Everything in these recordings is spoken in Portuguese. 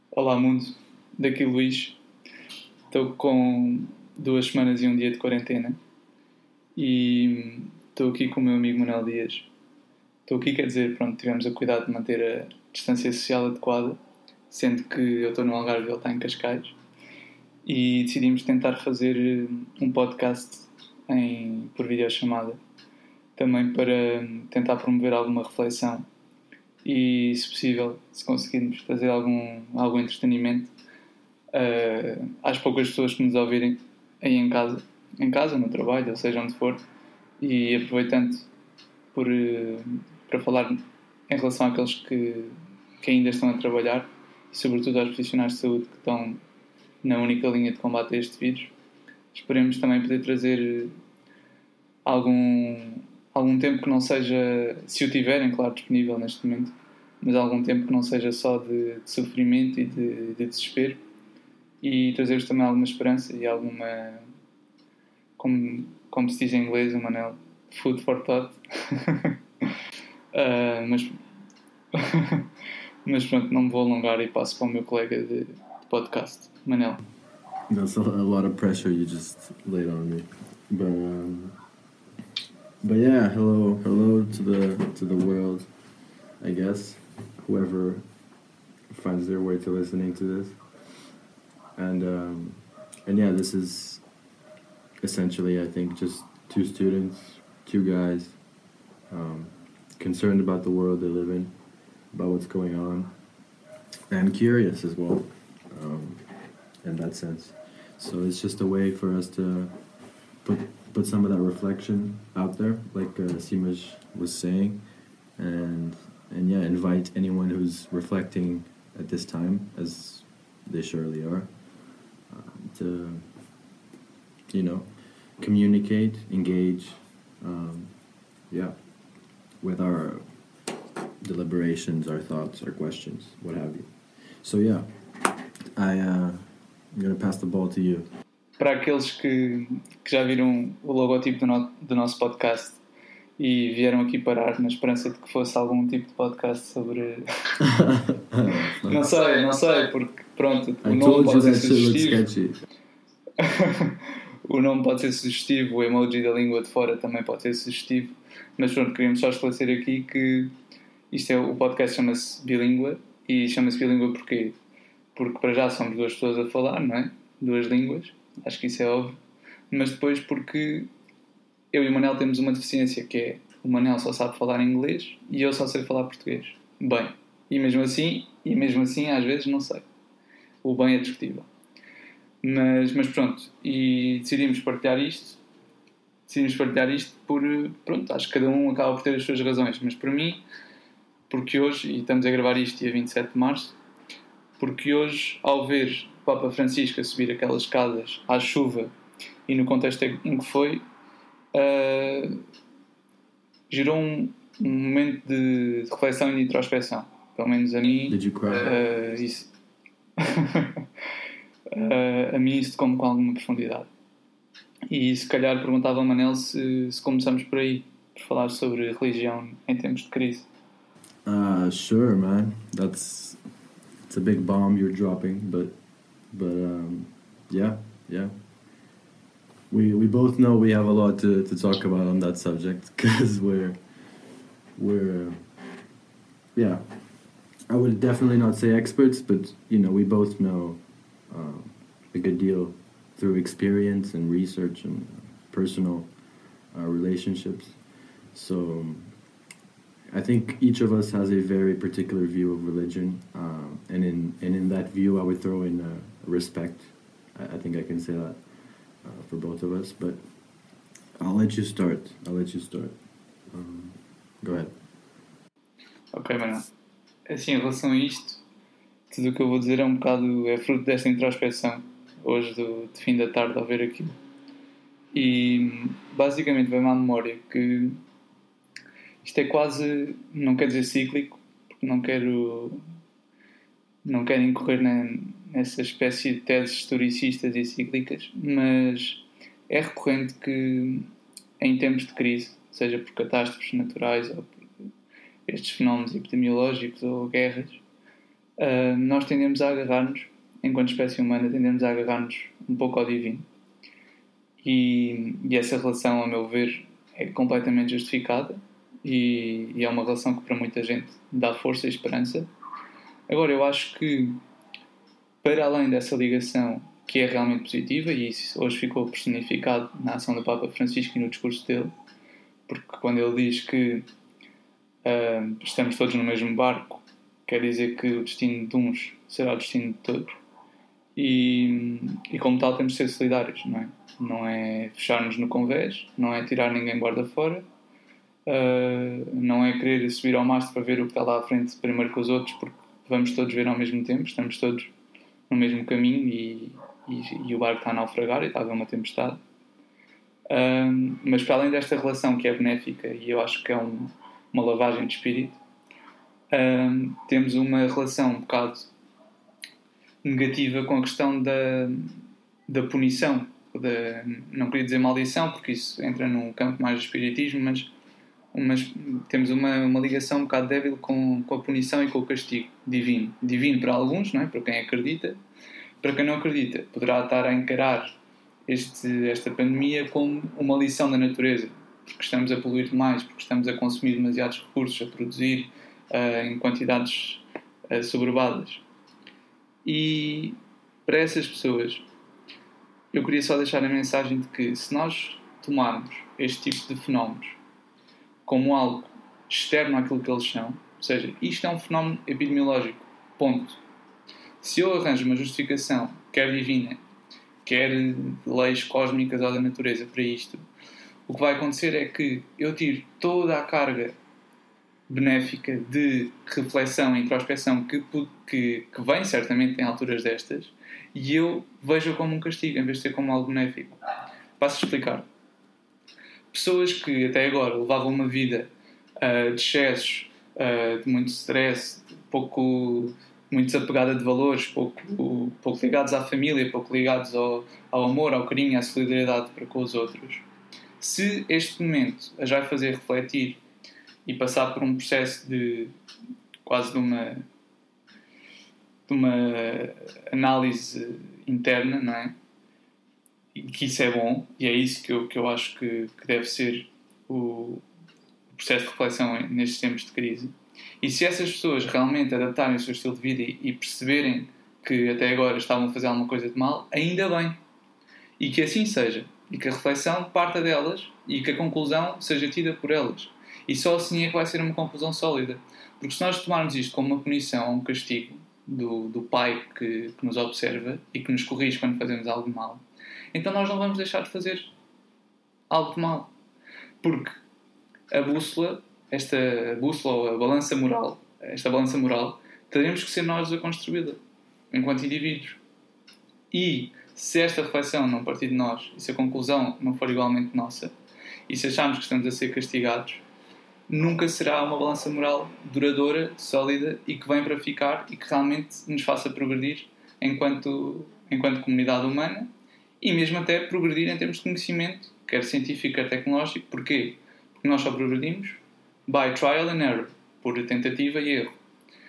Olá mundo, daqui Luís. Estou com 2 semanas e um dia de quarentena e estou aqui com o meu amigo Manuel Dias. Estou aqui, quer dizer, tivemos a cuidar de manter a distância social adequada, sendo que eu estou no Algarve e ele está em Cascais, e decidimos tentar fazer um podcast por videochamada, também para tentar promover alguma reflexão e, se possível, se conseguirmos fazer algum entretenimento às poucas pessoas que nos ouvirem aí em casa, no trabalho, ou seja, onde for, e aproveitando para falar em relação àqueles que ainda estão a trabalhar e sobretudo aos profissionais de saúde que estão na única linha de combate a este vírus. Esperemos também poder trazer algum tempo que não seja, se o tiverem, claro, disponível neste momento, mas algum tempo que não seja só de sofrimento e de desespero, e trazer-vos também alguma esperança e alguma, como se diz em inglês, o Manel, food for thought. Mas pronto, não me vou alongar e passo para o meu colega de podcast, Manel. That's a lot of pressure you just laid on me, but yeah, hello to the world, I guess, whoever finds their way to listening to this, and yeah, this is essentially, I think, just two students, two guys, concerned about the world they live in, about what's going on, and curious as well, in that sense. So it's just a way for us to put some of that reflection out there, like Simaj was saying, and yeah, invite anyone who's reflecting at this time, as they surely are, to, communicate, engage, with our deliberations, our thoughts, our questions, what have you. So yeah, I'm going to pass the ball to you. Para aqueles que já viram o logotipo do nosso podcast e vieram aqui parar na esperança de que fosse algum tipo de podcast sobre... não sei, porque pronto, o nome pode ser sugestivo. O nome pode ser sugestivo, o emoji da língua de fora também pode ser sugestivo, mas pronto, queríamos só esclarecer aqui que o podcast chama-se Bilíngua, e chama-se Bilíngua porquê? Porque para já somos 2 pessoas a falar, não é? 2 línguas, acho que isso é óbvio, mas depois porque eu e o Manel temos uma deficiência, que é o Manel só sabe falar inglês e eu só sei falar português. Bem, e mesmo assim às vezes não sei. O bem é discutível. Mas pronto, e decidimos partilhar isto por, pronto, acho que cada um acaba por ter as suas razões, mas para mim, porque hoje, e estamos a gravar isto dia 27 de março, porque hoje, ao ver o Papa Francisco a subir aquelas escadas à chuva e no contexto em que foi, gerou um momento de reflexão e de introspecção. Pelo menos a mim. Did you cry? Isso. A mim isso tocou-me com alguma profundidade. E se calhar perguntava ao Manel se começamos por aí, por falar sobre religião em tempos de crise. Sure, man. It's a big bomb you're dropping, but yeah. We both know we have a lot to talk about on that subject, because we're I would definitely not say experts, but we both know a good deal through experience and research and personal relationships. So I think each of us has a very particular view of religion, and in that view I would throw in respect. I think I can say that for both of us, but I'll let you start. Go ahead. Ok, Manuel. Assim, em relação a isto, tudo o que eu vou dizer é fruto desta introspecção hoje de fim da tarde ao ver aquilo, e basicamente vem-me à memória que isto é quase, não quer dizer cíclico, porque não quero incorrer nessa espécie de teses historicistas e cíclicas, mas é recorrente que em tempos de crise, seja por catástrofes naturais ou por estes fenómenos epidemiológicos ou guerras, nós tendemos a agarrar-nos, enquanto espécie humana, tendemos a agarrar-nos um pouco ao divino. E essa relação, a meu ver, é completamente justificada e é uma relação que para muita gente dá força e esperança. Agora, eu acho que, para além dessa ligação que é realmente positiva, e isso hoje ficou personificado na ação do Papa Francisco e no discurso dele, porque quando ele diz que estamos todos no mesmo barco, quer dizer que o destino de uns será o destino de todos. E como tal temos de ser solidários, não é? Não é fechar-nos no convés, não é tirar ninguém guarda fora, não é querer subir ao mastro para ver o que está lá à frente primeiro que os outros, porque vamos todos ver ao mesmo tempo, estamos todos no mesmo caminho e o barco está a naufragar e está a haver uma tempestade. Mas para além desta relação que é benéfica e eu acho que é uma lavagem de espírito, temos uma relação um bocado negativa com a questão da punição, não queria dizer maldição porque isso entra num campo mais do espiritismo, mas temos uma ligação um bocado débil com a punição e com o castigo divino para alguns, não é? Para quem acredita. Para quem não acredita, poderá estar a encarar esta pandemia como uma lição da natureza, porque estamos a poluir demais, porque estamos a consumir demasiados recursos, a produzir em quantidades soberbadas. E para essas pessoas, eu queria só deixar a mensagem de que se nós tomarmos este tipo de fenómenos como algo externo àquilo que eles são, ou seja, isto é um fenómeno epidemiológico, ponto. Se eu arranjo uma justificação, quer divina, quer leis cósmicas ou da natureza para isto, o que vai acontecer é que eu tiro toda a carga benéfica de reflexão e introspeção que vem certamente em alturas destas e eu vejo como um castigo em vez de ser como algo benéfico. Passo a explicar. Pessoas que até agora levavam uma vida de excessos, de muito stress, muito desapegada de valores, pouco ligados à família, pouco ligados ao amor, ao carinho, à solidariedade para com os outros. Se este momento as vai fazer refletir e passar por um processo de quase de uma análise interna, não é? E que isso é bom, e é isso que eu acho que deve ser o processo de reflexão nestes tempos de crise. E se essas pessoas realmente adaptarem o seu estilo de vida e perceberem que até agora estavam a fazer alguma coisa de mal, ainda bem. E que assim seja. E que a reflexão parta delas e que a conclusão seja tida por elas. E só assim é que vai ser uma conclusão sólida. Porque se nós tomarmos isto como uma punição, um castigo do Pai que nos observa e que nos corrige quando fazemos algo de mal, então nós não vamos deixar de fazer algo de mal. Porque esta bússola ou a balança moral, teremos que ser nós a construí-la, enquanto indivíduos. E se esta reflexão não partir de nós, e se a conclusão não for igualmente nossa, e se acharmos que estamos a ser castigados, nunca será uma balança moral duradoura, sólida e que vem para ficar e que realmente nos faça progredir enquanto comunidade humana e mesmo até progredir em termos de conhecimento, quer científico, quer tecnológico. Porquê? Porque nós só progredimos by trial and error, por tentativa e erro.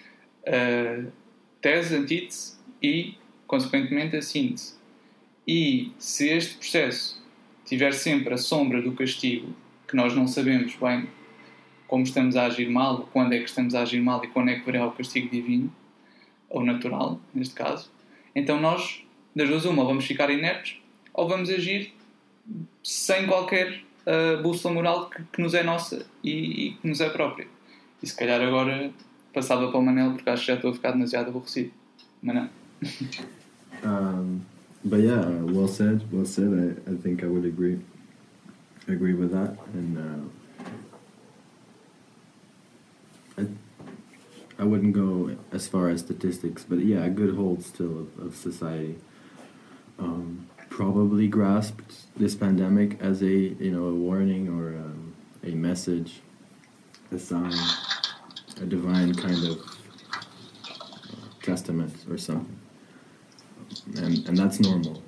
Tese, antítese e, consequentemente, a síntese. E se este processo tiver sempre a sombra do castigo, que nós não sabemos bem como estamos a agir mal, ou quando é que estamos a agir mal e quando é que virá o castigo divino, ou natural, neste caso, então nós, das duas uma, vamos ficar inertes ou vamos agir sem qualquer bússola moral que nos é nossa e que nos é própria. E se calhar agora passava para o Manel, porque acho que já estou a ficar demasiado aborrecido. Manel. But yeah, well said. I think I would agree with that. And I wouldn't go as far as statistics, but yeah, a good hold still of society probably grasped this pandemic as a warning or a message, a sign, a divine kind of testament or something. And that's normal.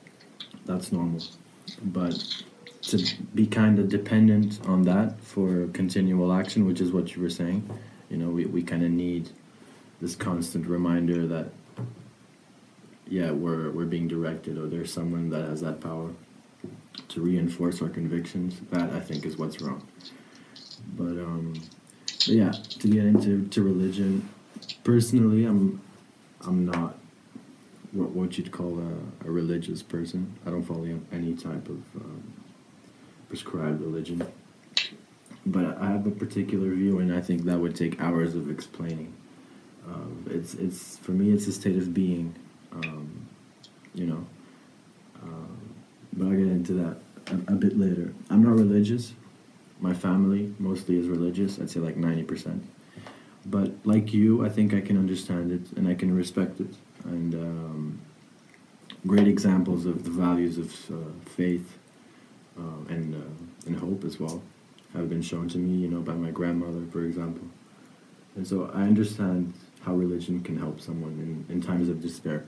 But to be kind of dependent on that for continual action, which is what you were saying, we kind of need this constant reminder that, yeah, we're being directed, or there's someone that has that power to reinforce our convictions. That, I think, is what's wrong. But yeah, to get into religion, personally, I'm not what you'd call a religious person. I don't follow any type of prescribed religion. But I have a particular view, and I think that would take hours of explaining. It's for me, it's a state of being, you know. But I'll get into that a bit later. I'm not religious. My family mostly is religious. I'd say like 90%. But like you, I think I can understand it and I can respect it. And great examples of the values of faith and hope as well have been shown to me, you know, by my grandmother, for example. And so I understand how religion can help someone in times of despair.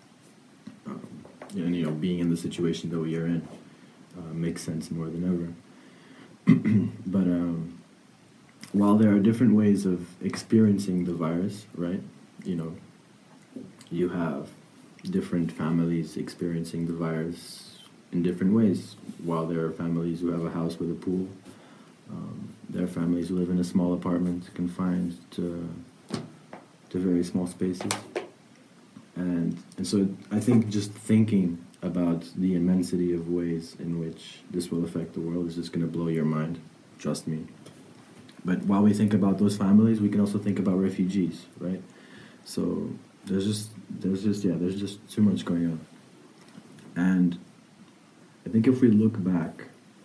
And, you know, being in the situation that we are in makes sense more than ever. But while there are different ways of experiencing the virus, right? You know, you have different families experiencing the virus in different ways. While there are families who have a house with a pool, there are families who live in a small apartment confined to very small spaces. And so I think just thinking about the immensity of ways in which this will affect the world is just going to blow your mind, trust me. But while we think about those families, we can also think about refugees, right? So there's just too much going on. And I think if we look back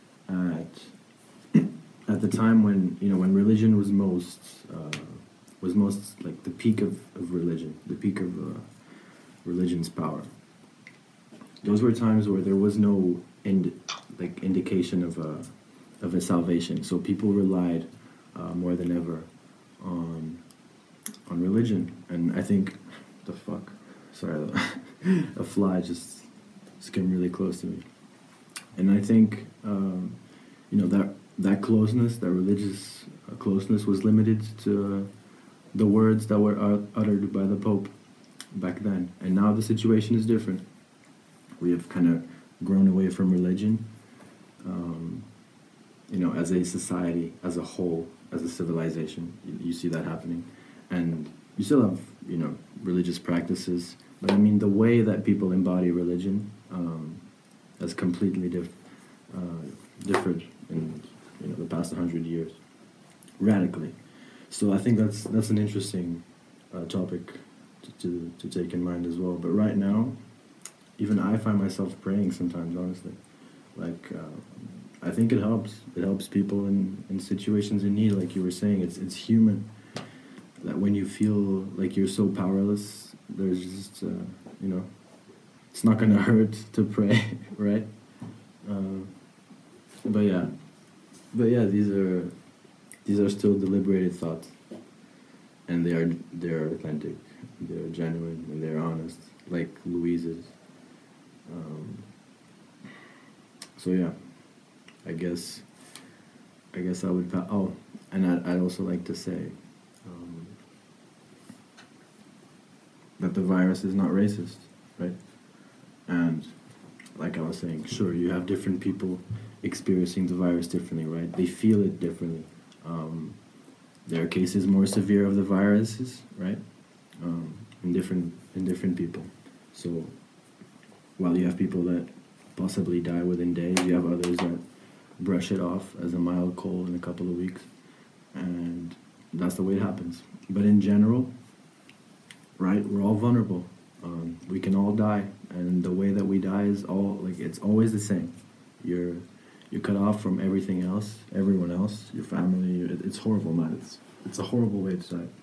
at the time when, you know, when religion was most like the peak of religion, the peak of religion's power. Those were times where there was no indication of a salvation. So people relied more than ever on religion. And I think a fly just came really close to me. And I think you know, that closeness, that religious closeness, was limited to the words that were uttered by the Pope back then. And now the situation is different. We have kind of grown away from religion, you know, as a society, as a whole, as a civilization. You see that happening. And you still have, you know, religious practices, but I mean, the way that people embody religion has completely differed in, you know, the past 100 years, radically. So I think that's an interesting topic to take in mind as well. But right now, even I find myself praying sometimes, honestly. Like, I think it helps. It helps people in situations in need, like you were saying. It's human that when you feel like you're so powerless, there's just, you know, it's not going to hurt to pray, right? But yeah, these are still deliberated thoughts, and they're authentic, they're genuine, and they're honest, like Louise's. So yeah, I guess I would. And I'd also like to say that the virus is not racist, right? And like I was saying, sure, you have different people experiencing the virus differently, right? They feel it differently. There are cases more severe of the viruses, right? In different people. So while you have people that possibly die within days, you have others that brush it off as a mild cold in a couple of weeks, and that's the way it happens. But in general, right, we're all vulnerable. We can all die, and the way that we die is it's always the same. You're cut off from everything else, everyone else, your family. It's horrible, man. It's a horrible way to die.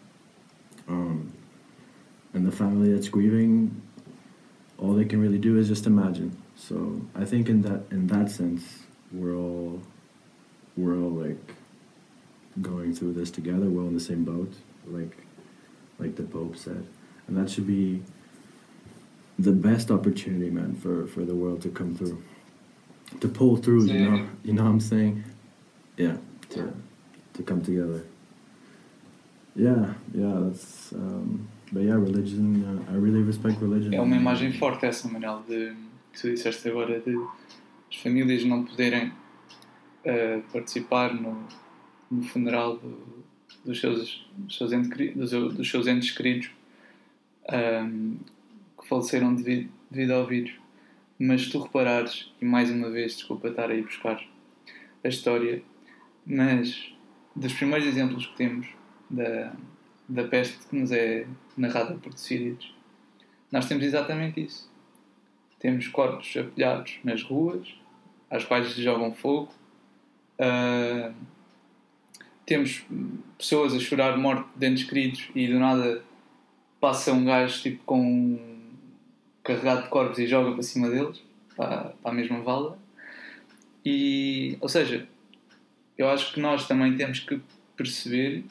And the family that's grieving, all they can really do is just imagine. So I think in that sense, we're all like going through this together. We're all in the same boat, like the Pope said, and that should be the best opportunity, man, for the world to come through, to pull through. You know what I'm saying? Yeah, to come together. Yeah, that's. But yeah, religion. I really respect religion. É uma imagem forte essa, Manel, de que tu disseste agora, de as famílias não poderem participar no funeral dos seus entes queridos que faleceram devido ao vírus. Mas se tu reparares, e mais uma vez, desculpa estar aí buscar a história, mas dos primeiros exemplos que temos da peste que nos é narrada por Tucídides, nós temos exatamente isso. Temos corpos apilhados nas ruas, às quais se jogam fogo. Temos pessoas a chorar morte de entes queridos e do nada passa um gajo tipo carregado de corpos e joga para cima deles, para a mesma vala. E, ou seja, eu acho que nós também temos que perceber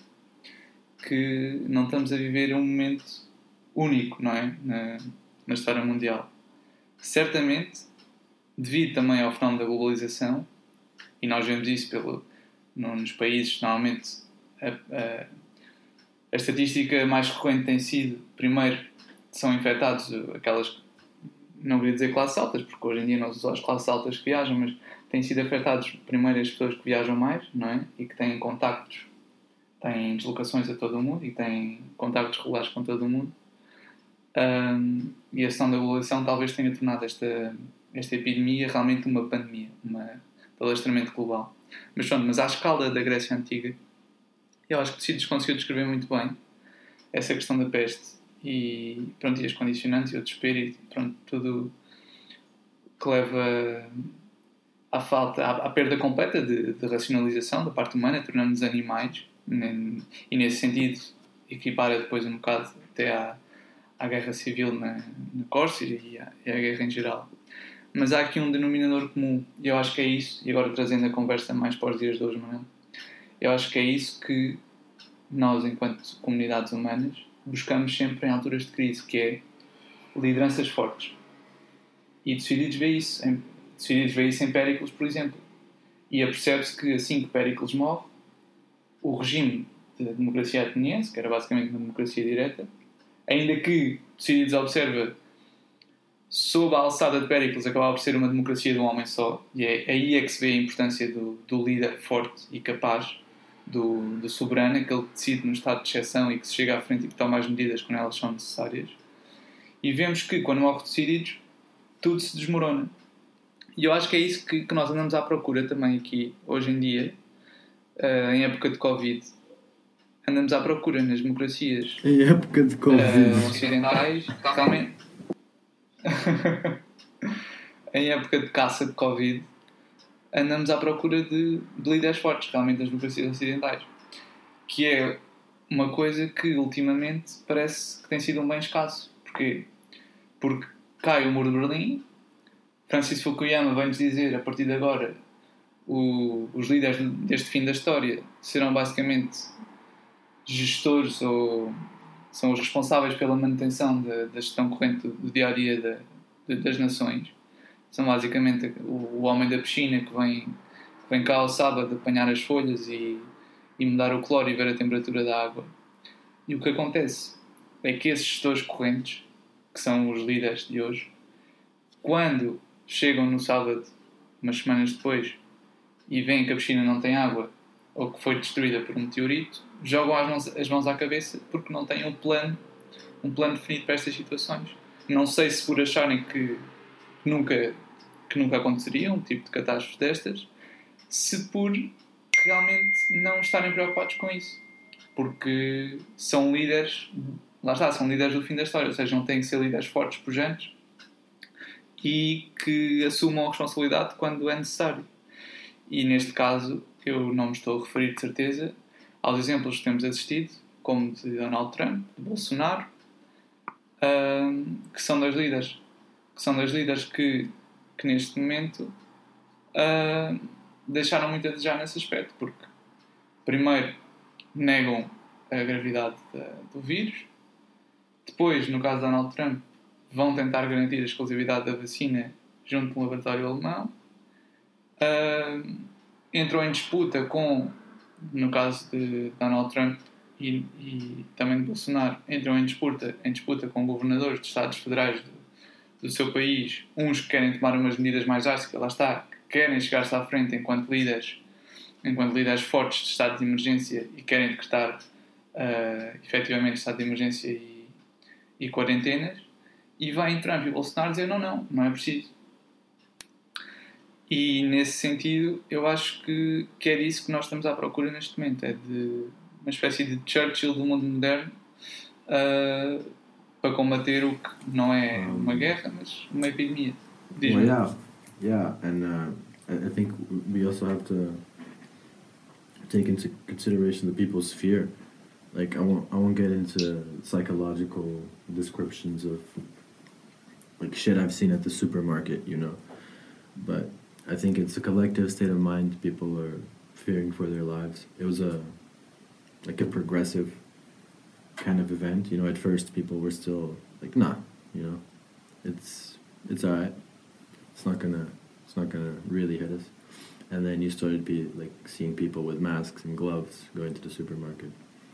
que não estamos a viver um momento único, não é? Na história mundial. Certamente, devido também ao fenómeno da globalização, e nós vemos isso nos países, normalmente a estatística mais recorrente tem sido, primeiro, são infectados aquelas, não queria dizer classes altas, porque hoje em dia não são as classes altas que viajam, mas têm sido afetados primeiro as pessoas que viajam mais, não é? E que têm contactos, têm deslocações a todo o mundo e têm contactos regulares com todo o mundo. E a questão da globalização talvez tenha tornado esta epidemia realmente uma pandemia, de alastramento global. Mas à escala da Grécia Antiga, eu acho que Tucídides conseguiu descrever muito bem essa questão da peste e as condicionantes e o desespero e tudo que leva à perda completa de racionalização da parte humana, tornando-nos animais, e nesse sentido equipara depois um bocado até à guerra civil na Córcega e à guerra em geral. Mas há aqui um denominador comum, e eu acho que é isso, e agora trazendo a conversa mais para os dias de hoje, Manuel, eu acho que é isso que nós, enquanto comunidades humanas, buscamos sempre em alturas de crise, que é lideranças fortes. E Tucídides vê isso em Péricles, por exemplo. E apercebe-se que assim que Péricles morre, o regime da democracia ateniense, que era basicamente uma democracia direta, ainda que Tucídides observa sob a alçada de Péricles acabava por ser uma democracia de um homem só, e é aí é que se vê a importância do líder forte e capaz, do soberano, aquele que decide no estado de exceção e que se chega à frente e que toma as medidas quando elas são necessárias. E vemos que quando morre Tucídides tudo se desmorona. E eu acho que é isso que nós andamos à procura também aqui, hoje em dia, em época de Covid. Andamos à procura nas democracias em época de Covid ocidentais, realmente. Em época de caça de Covid, andamos à procura de líderes fortes, realmente, nas democracias ocidentais. Que é uma coisa que, ultimamente, parece que tem sido um bem escasso. Porquê? Porque cai o muro de Berlim, Francis Fukuyama vem-nos dizer, a partir de agora, os líderes deste fim da história serão basicamente gestores ou são os responsáveis pela manutenção da gestão corrente do dia-a-dia das nações. São basicamente o homem da piscina que vem cá ao sábado apanhar as folhas e mudar o cloro e ver a temperatura da água. E o que acontece é que esses gestores correntes, que são os líderes de hoje, quando chegam no sábado, umas semanas depois, e veem que a piscina não tem água ou que foi destruída por um meteorito, jogam as mãos à cabeça porque não têm um plano definido para estas situações. Não sei se por acharem que nunca aconteceria um tipo de catástrofe destas, se por realmente não estarem preocupados com isso. Porque são líderes, lá está, são líderes do fim da história, ou seja, não têm que ser líderes fortes, pujantes e que assumam a responsabilidade quando é necessário. E neste caso, eu não me estou a referir de certeza aos exemplos que temos assistido, como de Donald Trump, de Bolsonaro, que são dois líderes. Que são dois líderes que neste momento deixaram muito a desejar nesse aspecto, porque primeiro negam a gravidade do vírus, depois, no caso de Donald Trump, vão tentar garantir a exclusividade da vacina junto com o laboratório alemão, entram em disputa com, no caso de Donald Trump, e também de Bolsonaro entram em disputa com governadores de Estados federais do seu país, uns que querem tomar umas medidas mais drásticas, lá está, que querem chegar-se à frente enquanto líderes fortes de estado de emergência e querem decretar efetivamente estado de emergência e quarentenas, e vêm Trump e Bolsonaro dizer não é preciso. E nesse sentido eu acho que é disso que nós estamos à procura neste momento, é de uma espécie de Churchill do mundo moderno, para combater o que não é uma guerra, mas uma epidemia. Well, yeah, and I think we also have to take into consideration the people's fear. Like I won't get into psychological descriptions of like shit I've seen at the supermarket, you know, but I think it's a collective state of mind. People are fearing for their lives. It was a progressive kind of event, you know. At first people were still like, nah, you know, it's alright, it's not gonna really hit us. And then you started seeing people with masks and gloves going to the supermarket,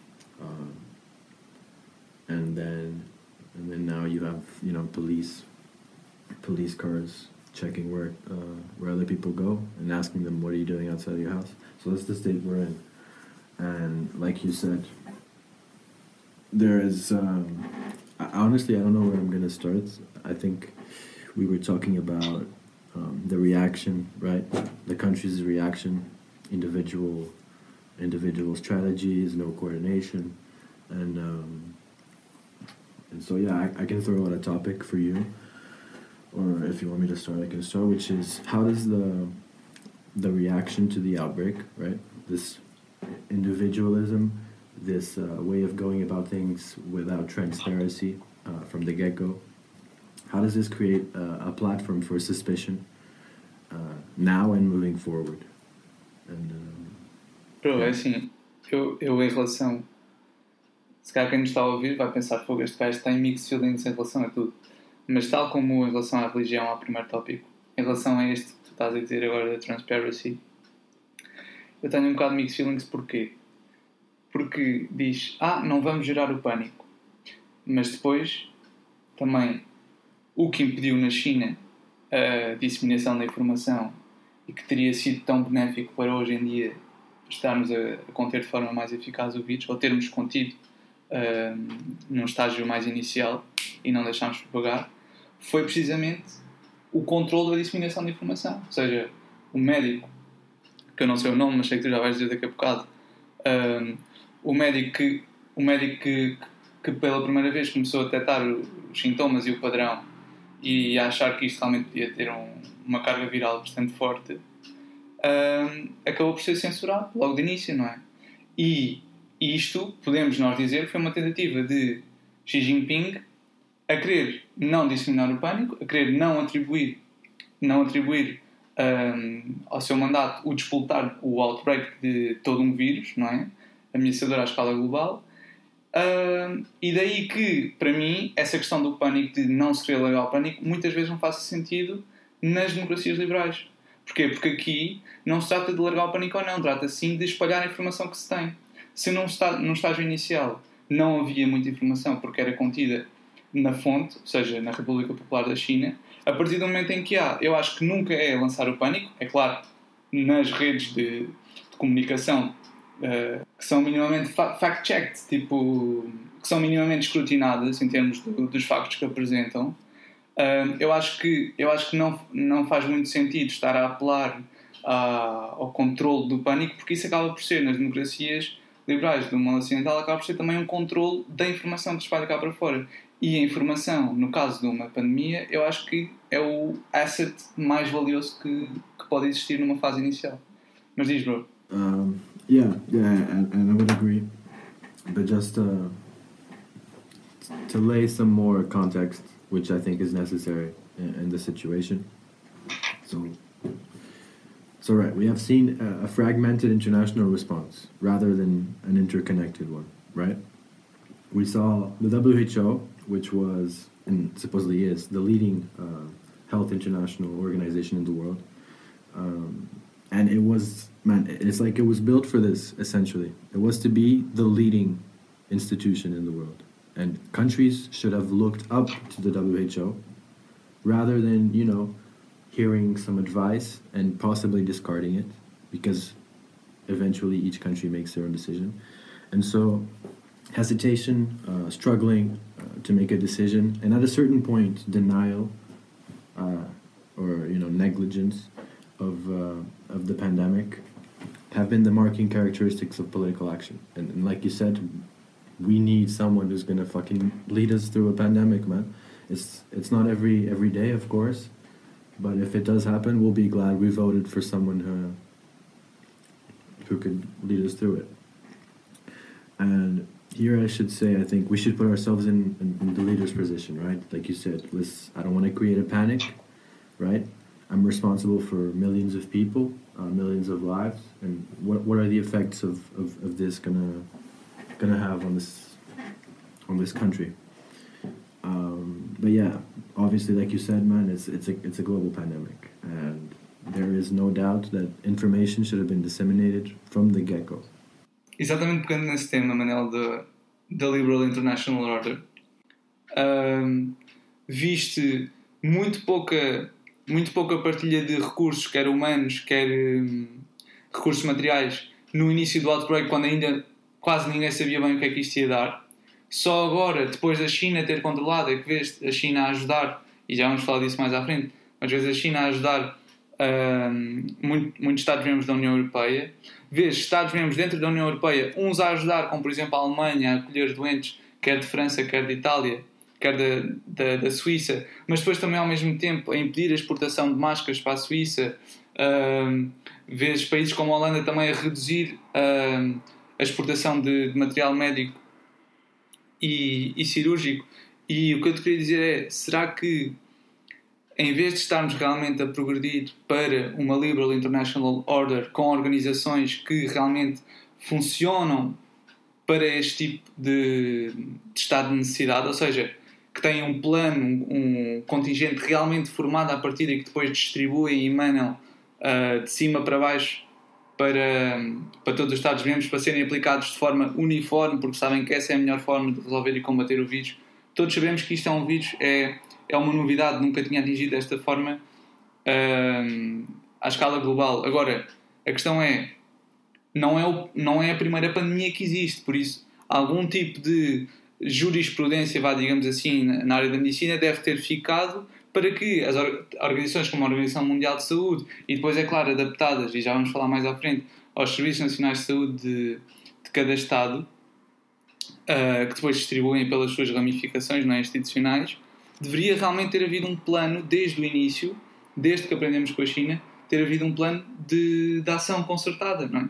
and then now you have, you know, police cars checking where other people go and asking them, what are you doing outside of your house? So that's the state we're in. And like you said, there is honestly, I don't know where I'm gonna start. I think we were talking about the reaction, right? The country's reaction, individual strategies, no coordination, and so yeah, I can throw out a topic for you, or if you want me to start, I can start, which is how does the reaction to the outbreak, right? This individualism, this way of going about things without transparency from the get-go. How does this create a platform for suspicion now and moving forward? É assim, eu em relação, se calhar quem nos está a ouvir vai pensar, fogo, este gajo tem mixed feelings em relação a tudo, mas tal como em relação à religião, ao primeiro tópico, em relação a este que tu estás a dizer agora da transparency, eu tenho um bocado de mixed feelings. Porquê? Porque diz, não vamos gerar o pânico, mas depois também o que impediu na China a disseminação da informação e que teria sido tão benéfico para hoje em dia estarmos a conter de forma mais eficaz o vírus, ou termos contido num estágio mais inicial e não deixarmos propagar, foi precisamente o controle da disseminação da informação. Ou seja, o médico, que eu não sei o nome, mas sei que tu já vais dizer daqui a bocado, o médico que pela primeira vez começou a detectar os sintomas e o padrão e a achar que isto realmente podia ter uma carga viral bastante forte, acabou por ser censurado logo de início, não é? E isto, podemos nós dizer, foi uma tentativa de Xi Jinping a querer não disseminar o pânico, a querer não atribuir ao seu mandato o despoltar o outbreak de todo um vírus, não é? Ameaçador à escala global. E daí que, para mim, essa questão do pânico, de não se querer largar o pânico, muitas vezes não faz sentido nas democracias liberais. Porquê? Porque aqui não se trata de largar o pânico ou não, trata sim de espalhar a informação que se tem. Se num estágio inicial não havia muita informação porque era contida na fonte, ou seja, na República Popular da China, a partir do momento em que eu acho que nunca é lançar o pânico, é claro, nas redes de comunicação que são minimamente fact-checked, tipo, que são minimamente escrutinadas em termos dos factos que apresentam, eu acho que não faz muito sentido estar a apelar ao controle do pânico, porque isso acaba por ser, nas democracias liberais do mundo ocidental, acaba por ser também um controle da informação que se espalha cá para fora. E a informação, no caso de uma pandemia, eu acho que é o asset mais valioso que pode existir numa fase inicial. Mas diz, bro. Yeah, and I would agree. But just to lay some more context, which I think is necessary in the situation. So right, we have seen a fragmented international response rather than an interconnected one, right? We saw the WHO, which was, and supposedly is, the leading health international organization in the world. And it was, it's like it was built for this, essentially. It was to be the leading institution in the world. And countries should have looked up to the WHO rather than, hearing some advice and possibly discarding it, because eventually each country makes their own decision. And so hesitation, struggling to make a decision, and at a certain point denial or negligence of the pandemic have been the marking characteristics of political action. And like you said, we need someone who's gonna fucking lead us through a pandemic, man. It's not every day, of course, but if it does happen, we'll be glad we voted for someone who could lead us through it. And here I should say, I think we should put ourselves in the leader's position, right? Like you said, I don't want to create a panic, right? I'm responsible for millions of people, millions of lives, and what are the effects of this gonna have on this country? But yeah, obviously, like you said, man, it's a global pandemic, and there is no doubt that information should have been disseminated from the get-go. Exatamente pegando nesse tema, Manel, da Liberal International Order, viste muito pouca partilha de recursos, quer humanos, quer recursos materiais, no início do outbreak, quando ainda quase ninguém sabia bem o que é que isto ia dar. Só agora, depois da China ter controlado, é que vês a China a ajudar, e já vamos falar disso mais à frente, mas vês a China a ajudar muitos Estados-membros da União Europeia. Vês Estados-membros dentro da União Europeia, uns a ajudar, como por exemplo a Alemanha, a acolher doentes, quer de França, quer de Itália, quer da Suíça, mas depois também ao mesmo tempo a impedir a exportação de máscaras para a Suíça. Vês países como a Holanda também a reduzir a exportação de material médico e cirúrgico. E o que eu te queria dizer é, será que em vez de estarmos realmente a progredir para uma Liberal International Order com organizações que realmente funcionam para este tipo de estado de necessidade, ou seja, que têm um plano, um contingente realmente formado à partida e que depois distribuem e emanam de cima para baixo para todos os Estados-membros, para serem aplicados de forma uniforme, porque sabem que essa é a melhor forma de resolver e combater o vírus. Todos sabemos que isto é um vírus, é uma novidade, nunca tinha atingido desta forma à escala global. Agora, a questão é, não é a primeira pandemia que existe, por isso algum tipo de jurisprudência, digamos assim, na área da medicina deve ter ficado para que as organizações como a Organização Mundial de Saúde, e depois, é claro, adaptadas, e já vamos falar mais à frente, aos Serviços Nacionais de Saúde de cada Estado, que depois distribuem pelas suas ramificações institucionais, deveria realmente ter havido um plano desde o início, desde que aprendemos com a China, ter havido um plano de ação concertada, não é?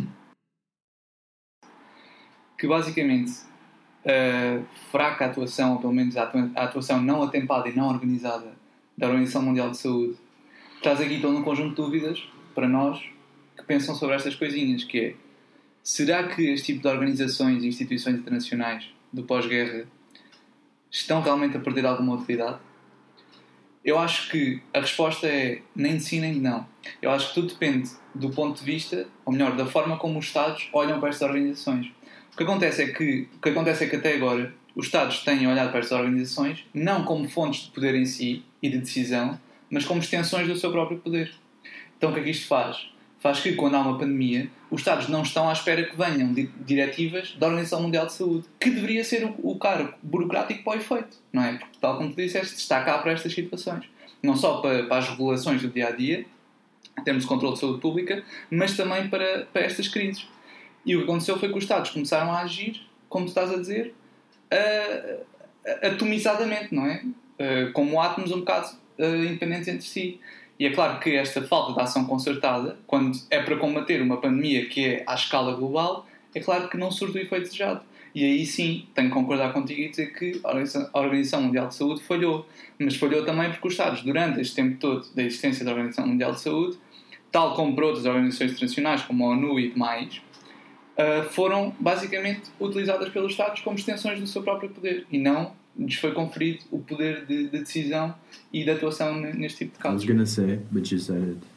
Que basicamente fraca atuação, ou pelo menos a atuação não atempada e não organizada da Organização Mundial de Saúde, traz aqui todo um conjunto de dúvidas para nós que pensam sobre estas coisinhas, que é, será que este tipo de organizações e instituições internacionais do pós-guerra estão realmente a perder alguma utilidade? Eu acho que a resposta é nem de sim nem de não. Eu acho que tudo depende do ponto de vista, ou melhor, da forma como os Estados olham para estas organizações. O que acontece é que até agora os Estados têm olhado para estas organizações não como fontes de poder em si e de decisão, mas como extensões do seu próprio poder. Então o que é que isto faz? Faz que, quando há uma pandemia, os Estados não estão à espera que venham diretivas da Organização Mundial de Saúde, que deveria ser o cargo burocrático para o efeito, não é? Porque, tal como tu disseste, está cá para estas situações. Não só para as regulações do dia-a-dia, em termos de controle de saúde pública, mas também para estas crises. E o que aconteceu foi que os Estados começaram a agir, como tu estás a dizer, atomizadamente, não é? Como átomos um bocado independentes entre si. E é claro que esta falta de ação concertada, quando é para combater uma pandemia que é à escala global, é claro que não surte o efeito desejado. E aí sim, tenho que concordar contigo e dizer que a Organização Mundial de Saúde falhou. Mas falhou também porque os Estados, durante este tempo todo da existência da Organização Mundial de Saúde, tal como por outras organizações internacionais, como a ONU e demais, foram basicamente utilizadas pelos Estados como extensões do seu próprio poder. E não lhes foi conferido o poder de decisão e de atuação neste tipo de casos. I was going to say, but you said it.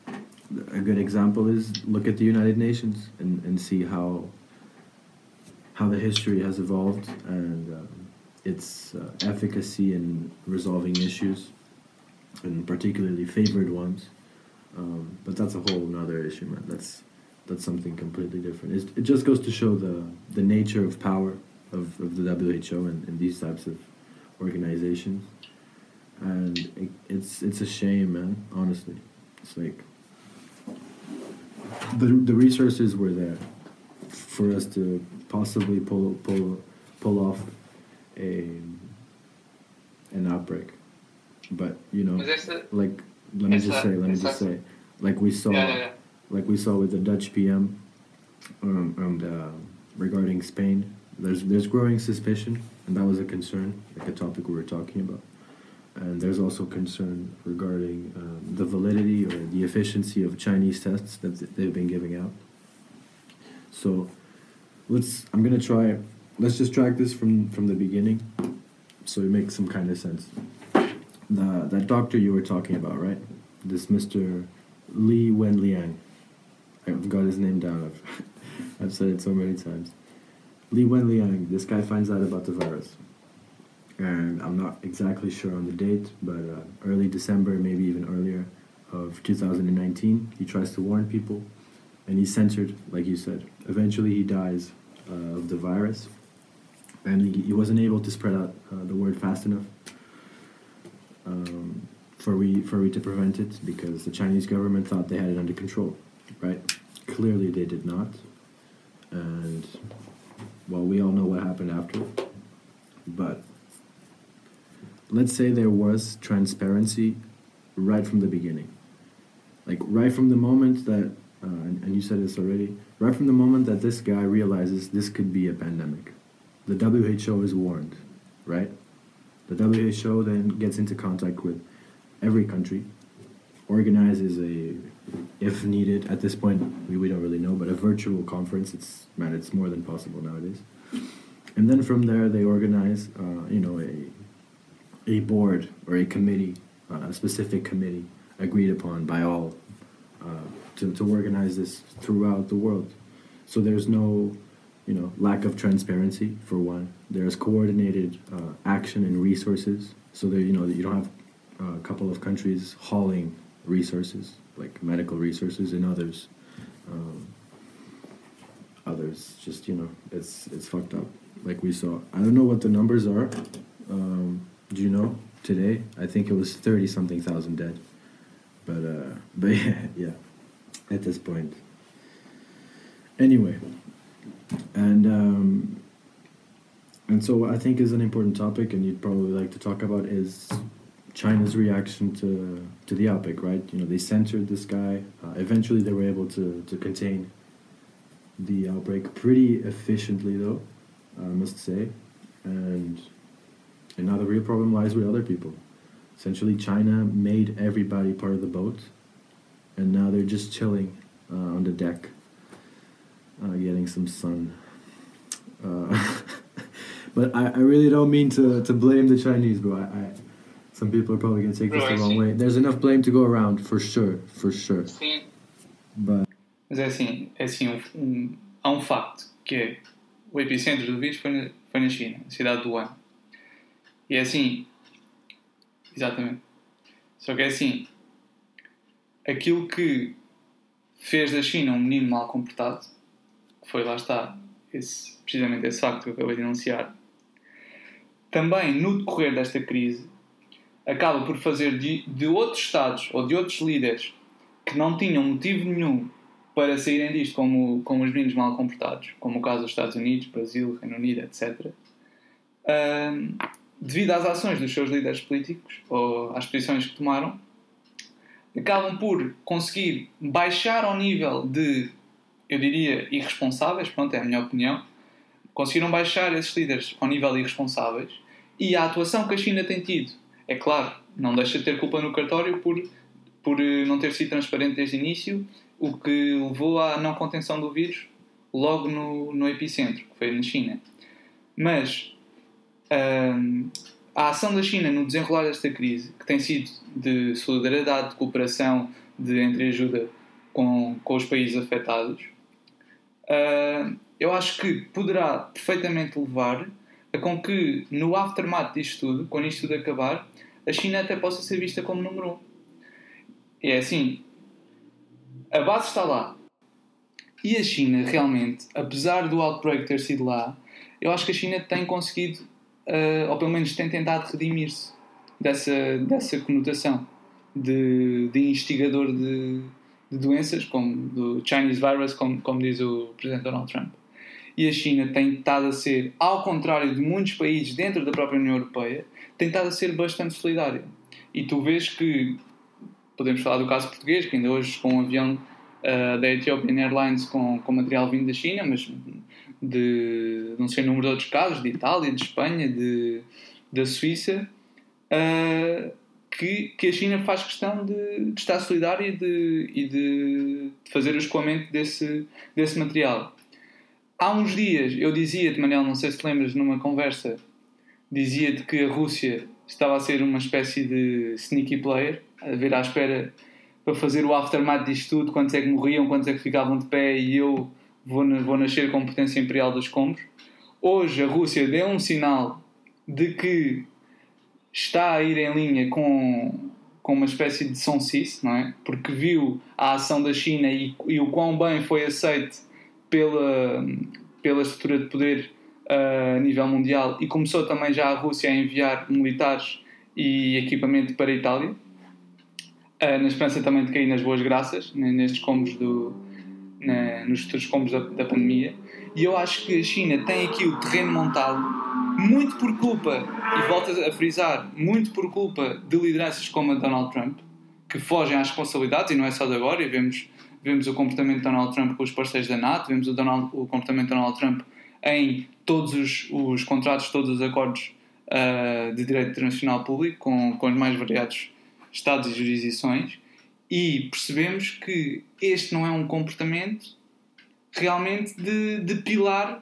A good example is look at the United Nations and see how how the history has evolved and its efficacy in resolving issues, and particularly favored ones. But that's a whole other issue, man. That's something completely different. It just goes to show the nature of power of the WHO and these types of organizations. And it's a shame, man, honestly. It's like the resources were there for us to possibly pull off an outbreak. But, you know, like, let me just say, like we saw with the Dutch PM regarding Spain, there's growing suspicion, and that was a concern, like a topic we were talking about. And there's also concern regarding the validity or the efficiency of Chinese tests that they've been giving out. So let's just track this from the beginning, so it makes some kind of sense. That doctor you were talking about, right? This Mr. Li Wenliang. I've got his name down. I've said it so many times. Li Wenliang. This guy finds out about the virus, and I'm not exactly sure on the date, but early December, maybe even earlier, of 2019. He tries to warn people, and he's censored, like you said. Eventually, he dies of the virus, and he wasn't able to spread out the word fast enough for we to prevent it, because the Chinese government thought they had it under control, right? Clearly, they did not, and well, we all know what happened after. But let's say there was transparency right from the beginning. Like, right from the moment that, and you said this already, right from the moment that this guy realizes this could be a pandemic, the WHO is warned, right? The WHO then gets into contact with every country, organizes if needed, at this point, we don't really know, but a virtual conference. It's more than possible nowadays. And then from there, they organize, a board or a committee, a specific committee agreed upon by all to organize this throughout the world. So there's no, lack of transparency, for one. There's coordinated action and resources. So there, you don't have a couple of countries hauling resources, like medical resources, and others just, it's fucked up. Like we saw, I don't know what the numbers are. Do you know? Today, I think it was 30-something thousand dead. But yeah, at this point. Anyway, and so I think is an important topic, and you'd probably like to talk about, is China's reaction to the outbreak, right? They censored this guy. Eventually, they were able to contain the outbreak pretty efficiently, though, I must say. And now the real problem lies with other people. Essentially, China made everybody part of the boat, and now they're just chilling on the deck, getting some sun. But I really don't mean to blame the Chinese, bro. Some people are probably going to take this the wrong way. There's enough blame to go around, for sure. Sim. But... Mas é assim, há um facto, que é o epicentro do vírus foi na China, na cidade de Wuhan. E é assim, exatamente. Só que é assim, aquilo que fez da China um menino mal comportado, que foi, lá está, precisamente esse facto que eu acabei de enunciar, também no decorrer desta crise, acaba por fazer de outros Estados ou de outros líderes que não tinham motivo nenhum para saírem disto como os meninos mal comportados, como o caso dos Estados Unidos, Brasil, Reino Unido, etc., devido às ações dos seus líderes políticos ou às posições que tomaram, acabam por conseguir baixar ao nível de, eu diria, irresponsáveis, pronto, é a minha opinião, conseguiram baixar esses líderes ao nível de irresponsáveis, e a atuação que a China tem tido, é claro, não deixa de ter culpa no cartório por não ter sido transparente desde o início, o que levou à não contenção do vírus logo no epicentro, que foi na China. Mas a ação da China no desenrolar desta crise, que tem sido de solidariedade, de cooperação, de entreajuda com os países afetados, eu acho que poderá perfeitamente levar a com que, no aftermath disto tudo, quando isto tudo acabar, a China até possa ser vista como número 1. E é assim, a base está lá. E a China, realmente, apesar do outbreak ter sido lá, eu acho que a China tem conseguido, ou pelo menos tem tentado redimir-se dessa conotação de instigador de doenças, como do Chinese virus, como diz o Presidente Donald Trump. E a China tem estado a ser, ao contrário de muitos países dentro da própria União Europeia, tem estado a ser bastante solidária. E tu vês que, podemos falar do caso português, que ainda hoje com um avião da Ethiopian Airlines com material vindo da China, mas de não sei o número de outros casos, de Itália, de Espanha, da Suíça, que a China faz questão de estar solidária e de fazer o escoamento desse material. Há uns dias eu dizia-te, Manel, não sei se te lembras, numa conversa, dizia-te que a Rússia estava a ser uma espécie de sneaky player, a ver à espera para fazer o aftermath disto tudo, quantos é que morriam, quantos é que ficavam de pé e eu vou nascer com potência imperial dos combos. Hoje a Rússia deu um sinal de que está a ir em linha com uma espécie de sonsice, não é? Porque viu a ação da China e o quão bem foi aceite pela estrutura de poder a nível mundial, e começou também já a Rússia a enviar militares e equipamento para a Itália, na esperança também de cair nas boas graças, nestes combos nos futuros combos da pandemia. E eu acho que a China tem aqui o terreno montado, muito por culpa, e volto a frisar, muito por culpa de lideranças como a Donald Trump, que fogem às responsabilidades, e não é só de agora, e vemos o comportamento de Donald Trump com os parceiros da NATO, vemos o comportamento de Donald Trump em todos os contratos, todos os acordos de direito internacional público com os mais variados estados e jurisdições, e percebemos que este não é um comportamento realmente de pilar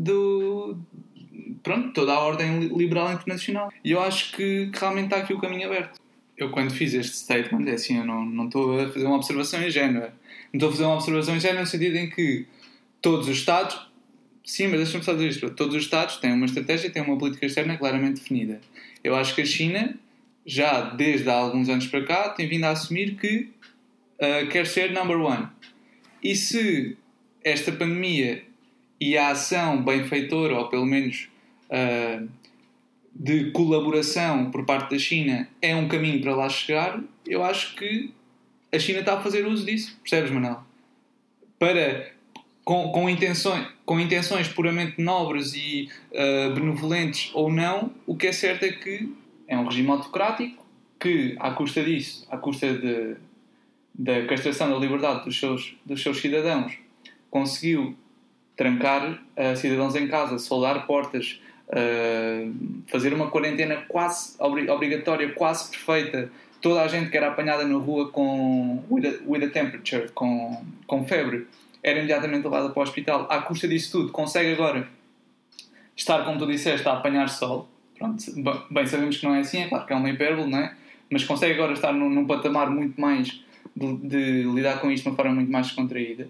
toda a ordem liberal internacional. E eu acho que realmente está aqui o caminho aberto. Eu, quando fiz este statement, assim, eu não estou a fazer uma observação ingênua. Não estou a fazer uma observação ingênua no sentido em que todos os Estados... Sim, mas deixa-me só dizer isto. Todos os Estados têm uma estratégia, têm uma política externa claramente definida. Eu acho que a China, já desde há alguns anos para cá, tem vindo a assumir que quer ser number one. E se esta pandemia e a ação benfeitora, ou pelo menos de colaboração por parte da China, é um caminho para lá chegar, eu acho que a China está a fazer uso disso. Percebes, Manuel? Com intenções puramente nobres e benevolentes ou não, o que é certo é que é um regime autocrático que, à custa disso, à custa da castração da liberdade dos seus cidadãos, conseguiu trancar cidadãos em casa, soldar portas, fazer uma quarentena quase obrigatória, quase perfeita. Toda a gente que era apanhada na rua with a temperature, com febre, era imediatamente levada para o hospital. À custa disso tudo, consegue agora estar, como tu disseste, a apanhar sol. Pronto, bem, sabemos que não é assim, é claro que é uma hipérbole, não é? Mas consegue agora estar num patamar muito mais de lidar com isto de uma forma muito mais descontraída.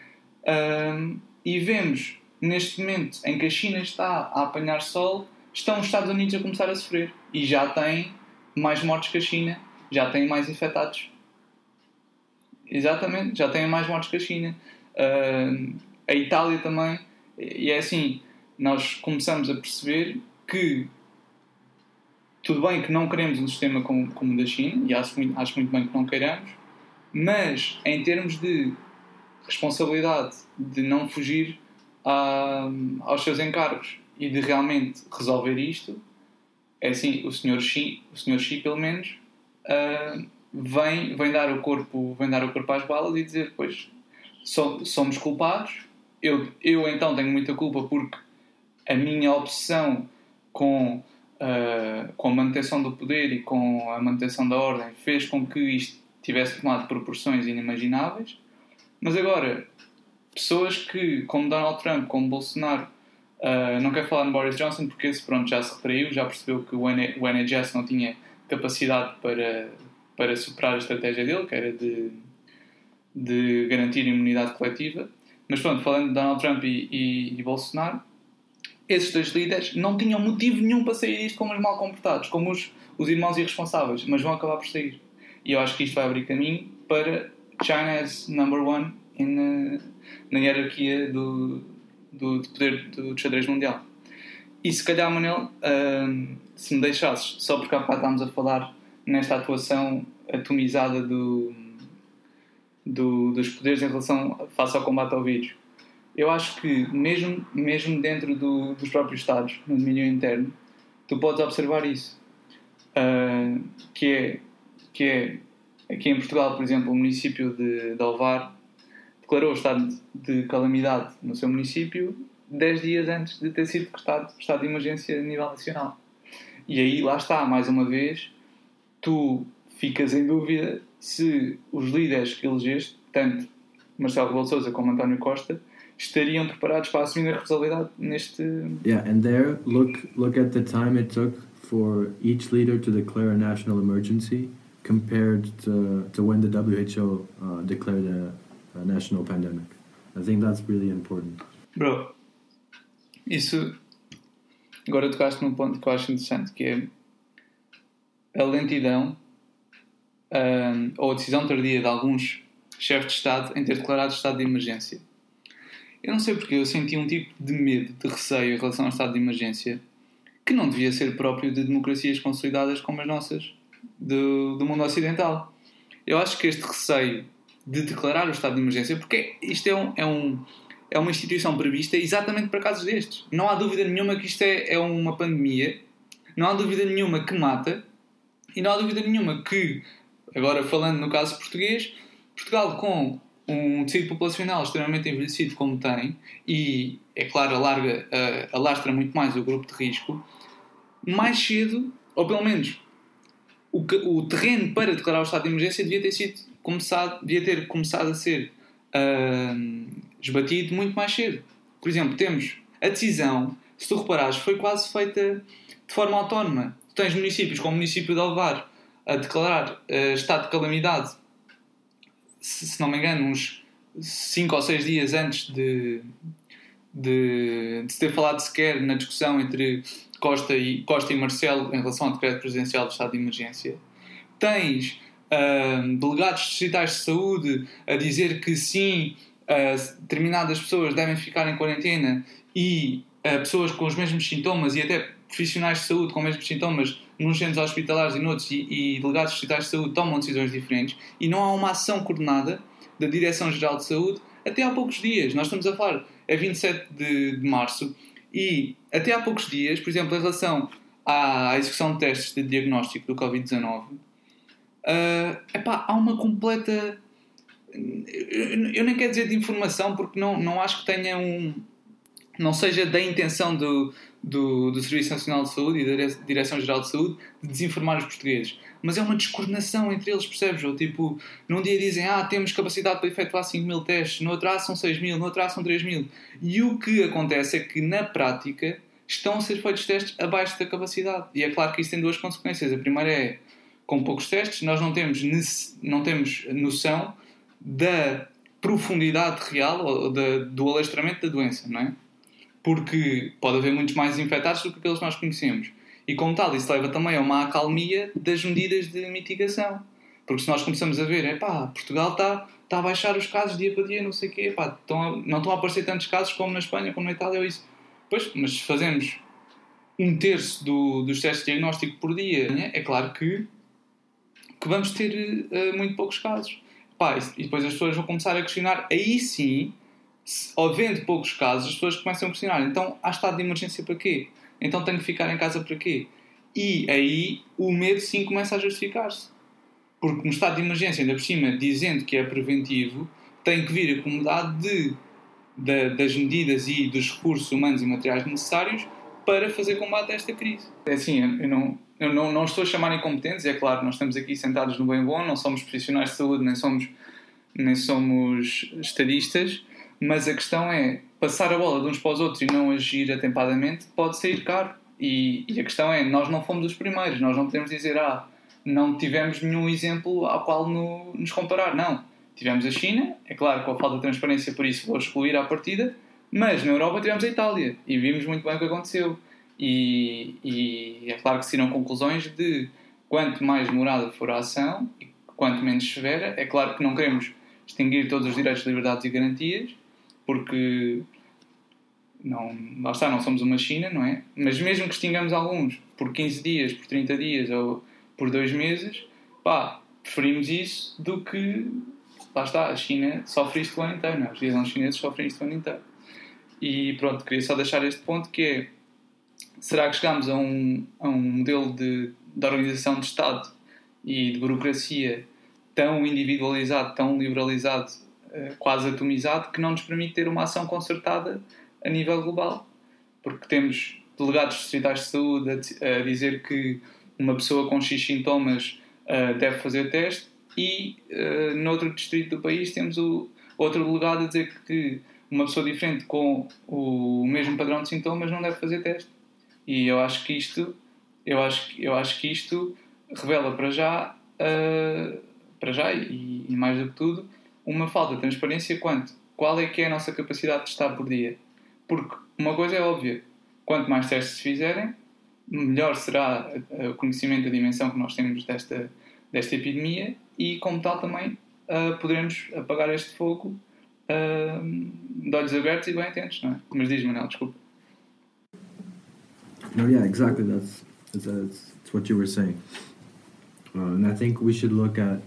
E vemos, neste momento em que a China está a apanhar sol, estão os Estados Unidos a começar a sofrer. E já têm mais mortes que a China, já têm mais infectados. Exatamente, já têm mais mortes que a China. A Itália também. E é assim, nós começamos a perceber que tudo bem que não queremos um sistema como o da China, e acho muito bem que não queiramos, mas em termos de responsabilidade, de não fugir aos seus encargos e de realmente resolver isto, é assim, o Sr. Xi pelo menos vem dar o corpo às balas e dizer, pois, somos culpados, eu então tenho muita culpa porque a minha obsessão com a manutenção do poder e com a manutenção da ordem fez com que isto tivesse tomado proporções inimagináveis. Mas agora, pessoas que, como Donald Trump, como Bolsonaro, não quero falar no Boris Johnson porque esse já se retraiu, já percebeu que o NHS não tinha capacidade para superar a estratégia dele, que era de garantir a imunidade coletiva. Mas pronto, falando de Donald Trump e Bolsonaro, esses dois líderes não tinham motivo nenhum para sair disto como os mal comportados, como os irmãos irresponsáveis, mas vão acabar por sair. E eu acho que isto vai abrir caminho para China as number one na hierarquia do poder do xadrez mundial. E se calhar, Manel, se me deixasses, só porque há bocado estávamos a falar nesta atuação atomizada dos poderes em relação face ao combate ao vírus, eu acho que mesmo dentro dos próprios Estados, no domínio interno, tu podes observar isso. Que é aqui em Portugal, por exemplo, o município de Ovar declarou o estado de calamidade no seu município 10 dias antes de ter sido decretado estado de emergência a nível nacional. E aí, lá está, mais uma vez, tu ficas em dúvida se os líderes que elegeste, tanto Marcelo Rebelo de Sousa como António Costa, estariam preparados para assumir a responsabilidade neste... Yeah, and there, look at the time it took for each leader to declare a national emergency compared to when the WHO declared a national pandemic. I think that's really important. Bro, isso... Agora tocaste num ponto que eu acho interessante, que é a lentidão ou a decisão tardia de alguns chefes de Estado em ter declarado estado de emergência. Eu não sei porque eu senti um tipo de medo, de receio em relação ao estado de emergência que não devia ser próprio de democracias consolidadas como as nossas, do mundo ocidental. Eu acho que este receio de declarar o estado de emergência, porque isto é uma instituição prevista exatamente para casos destes. Não há dúvida nenhuma que isto é uma pandemia, não há dúvida nenhuma que mata, e não há dúvida nenhuma que, agora falando no caso português, Portugal com um tecido populacional extremamente envelhecido como tem, e é claro alastra muito mais o grupo de risco, mais cedo, ou pelo menos o terreno para declarar o estado de emergência devia ter começado a ser esbatido muito mais cedo. Por exemplo, temos a decisão, se tu reparares, foi quase feita de forma autónoma. Tu tens municípios como o município de Alvar a declarar estado de calamidade, se não me engano, uns 5 ou 6 dias antes de se ter falado sequer na discussão entre Costa e Marcelo em relação ao decreto presidencial do estado de emergência. Tens delegados distritais de saúde a dizer que sim, determinadas pessoas devem ficar em quarentena e pessoas com os mesmos sintomas e até profissionais de saúde com os mesmos sintomas nos centros hospitalares e noutros e delegados distritais de saúde tomam decisões diferentes e não há uma ação coordenada da Direção-Geral de Saúde até há poucos dias. Nós estamos a falar, é 27 de março e até há poucos dias, por exemplo, em relação à execução de testes de diagnóstico do Covid-19, há uma completa... Eu nem quero dizer de informação porque não acho que tenha não seja da intenção do Serviço Nacional de Saúde e da Direção-Geral de Saúde de desinformar os portugueses. Mas é uma descoordenação entre eles, percebes? Ou tipo, num dia dizem, temos capacidade para efetuar 5.000 testes, no outro são 6.000, no outro são 3.000. E o que acontece é que, na prática, estão a ser feitos testes abaixo da capacidade. E é claro que isso tem duas consequências. A primeira é, com poucos testes, nós não temos noção da profundidade real ou do alastramento da doença, não é? Porque pode haver muitos mais infectados do que aqueles que nós conhecemos. E como tal, isso leva também a uma acalmia das medidas de mitigação. Porque se nós começamos a ver, Portugal está a baixar os casos dia para dia, não sei o quê, não estão a aparecer tantos casos como na Espanha, como na Itália, ou isso. Pois, mas se fazemos 1/3 dos testes de diagnóstico por dia, é claro que vamos ter muito poucos casos. E depois as pessoas vão começar a questionar, aí sim, havendo poucos casos, as pessoas começam a questionar, então há estado de emergência para quê? Então tenho que ficar em casa para quê? E aí o medo sim começa a justificar-se. Porque no estado de emergência, ainda por cima, dizendo que é preventivo, tem que vir acomodado das medidas e dos recursos humanos e materiais necessários para fazer combate a esta crise. É assim, eu não estou a chamar incompetentes, é claro, nós estamos aqui sentados no bem bom, não somos profissionais de saúde, nem somos estadistas, mas a questão é, passar a bola de uns para os outros e não agir atempadamente pode sair caro. E a questão é, nós não fomos os primeiros, nós não podemos dizer, não tivemos nenhum exemplo ao qual nos comparar. Não. tivemos a China, é claro, com a falta de transparência, por isso vou excluir à partida, mas na Europa tivemos a Itália e vimos muito bem o que aconteceu. E é claro que se tiram conclusões de quanto mais demorada for a ação e quanto menos severa. É claro que não queremos extinguir todos os direitos, liberdades e garantias, porque lá está, não somos uma China, não é? Mas mesmo que extingamos alguns por 15 dias, por 30 dias ou por 2 meses, preferimos isso do que, lá está, a China sofre isto o ano inteiro, não é? Os cidadãos chineses sofrem isto o ano inteiro. E pronto, queria só deixar este ponto, que é: será que chegamos a um modelo de organização de Estado e de burocracia tão individualizado, tão liberalizado, quase atomizado, que não nos permite ter uma ação concertada a nível global? Porque temos delegados distritais de saúde a dizer que uma pessoa com X sintomas deve fazer teste, e noutro distrito do país temos outro delegado a dizer que uma pessoa diferente com o mesmo padrão de sintomas não deve fazer teste. E eu acho que isto revela para já e mais do que tudo, uma falta de transparência qual é que é a nossa capacidade de testar por dia. Porque uma coisa é óbvia: quanto mais testes se fizerem, melhor será o conhecimento da dimensão que nós temos desta epidemia, e como tal também poderemos apagar este fogo de olhos abertos e bem atentos, não é? Mas diz, Manel, desculpa. No, yeah, exactly. That's what you were saying, and I think we should look at.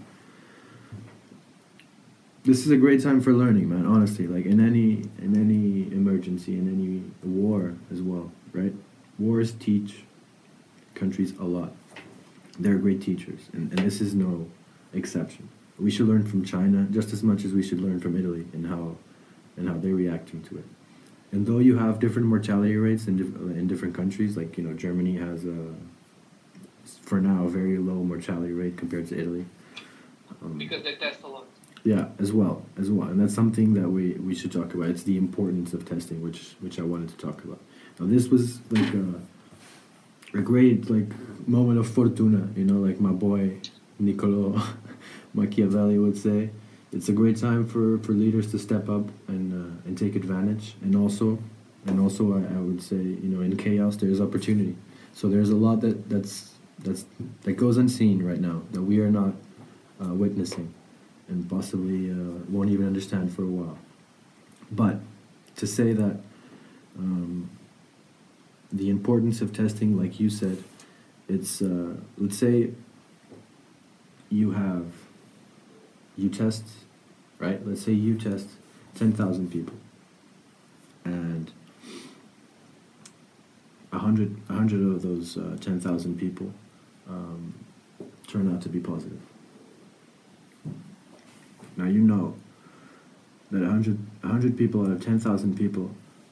This is a great time for learning, man. Honestly, like in any emergency, in any war as well, right? Wars teach countries a lot. They're great teachers, and this is no exception. We should learn from China just as much as we should learn from Italy and how they're reacting to it. And though you have different mortality rates in different countries, like, you know, Germany has for now a very low mortality rate compared to Italy. Because they test a lot. Yeah, as well, and that's something that we should talk about. It's the importance of testing, which I wanted to talk about. Now, this was like a great moment of fortuna, you know, like my boy Niccolo Machiavelli would say. It's a great time for leaders to step up and take advantage, and also I would say, you know, in chaos there's opportunity. So there's a lot that goes unseen right now that we are not witnessing, and possibly won't even understand for a while. But to say that the importance of testing, like you said, it's let's say you test, right? Let's say you test 10,000 people, and 100 of those 10,000 people turn out to be positive. Now you know that 100 people out of 10,000 people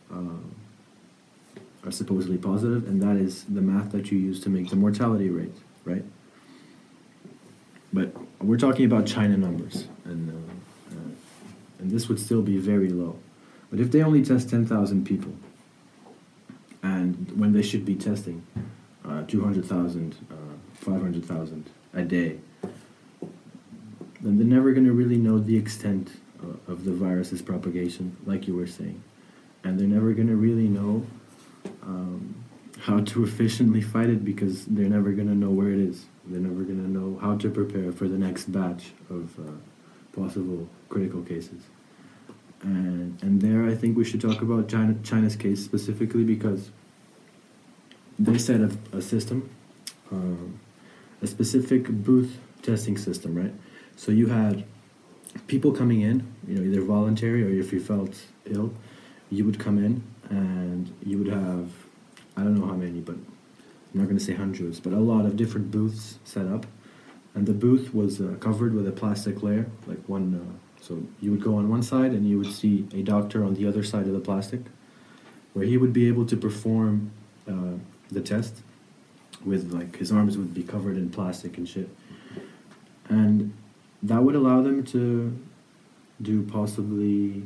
are supposedly positive, and that is the math that you use to make the mortality rate, right? But we're talking about China numbers, and this would still be very low. But if they only test 10,000 people, and when they should be testing 200,000, 500,000 a day, then they're never going to really know the extent of the virus's propagation, like you were saying. And they're never going to really know how to efficiently fight it, because they're never going to know where it is. They're never going to know how to prepare for the next batch of possible critical cases. And there I think we should talk about China's case specifically, because they set up a system, a specific booth testing system, right? So you had people coming in, you know, either voluntary or if you felt ill, you would come in and you would have, I don't know how many, but I'm not going to say hundreds, but a lot of different booths set up. And the booth was covered with a plastic layer, like one, so you would go on one side and you would see a doctor on the other side of the plastic, where he would be able to perform the test with, like, his arms would be covered in plastic and shit. And that would allow them to do possibly,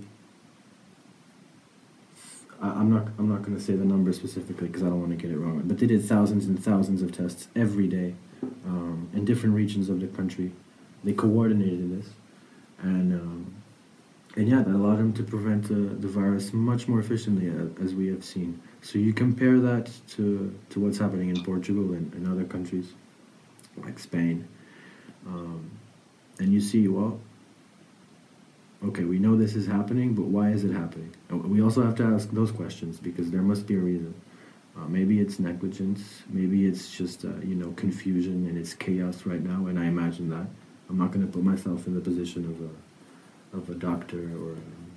I'm not going to say the number specifically because I don't want to get it wrong, but they did thousands and thousands of tests every day in different regions of the country. They coordinated this, And yeah, that allowed him to prevent the virus much more efficiently, as we have seen. So you compare that to what's happening in Portugal and other countries like Spain, and you see, well, okay, we know this is happening, but why is it happening? And we also have to ask those questions because there must be a reason. Maybe it's negligence, maybe it's just confusion and it's chaos right now, and I imagine that. I'm not going to put myself in the position of a doctor or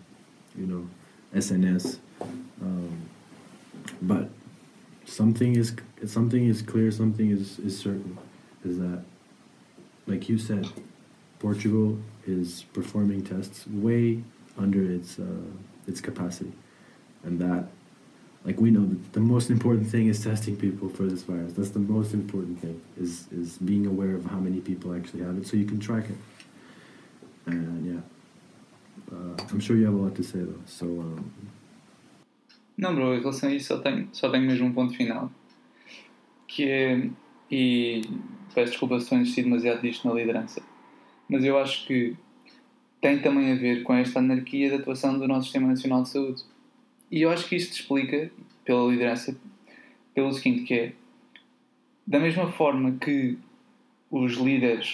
SNS, but something is clear, something is certain, is that, like you said, Portugal is performing tests way under its capacity, and that, like, we know that the most important thing is testing people for this virus. That's the most important thing, is being aware of how many people actually have it, so you can track it. And yeah, I'm sure you have a lot to say though. So Não, bro, em relação a isso só tenho mesmo um ponto final, que é, e peço desculpa se estou a insistir demasiado disto na liderança, mas eu acho que tem também a ver com esta anarquia de atuação do nosso Sistema Nacional de Saúde. E eu acho que isto explica, pela liderança, pelo seguinte, que é, da mesma forma que os líderes,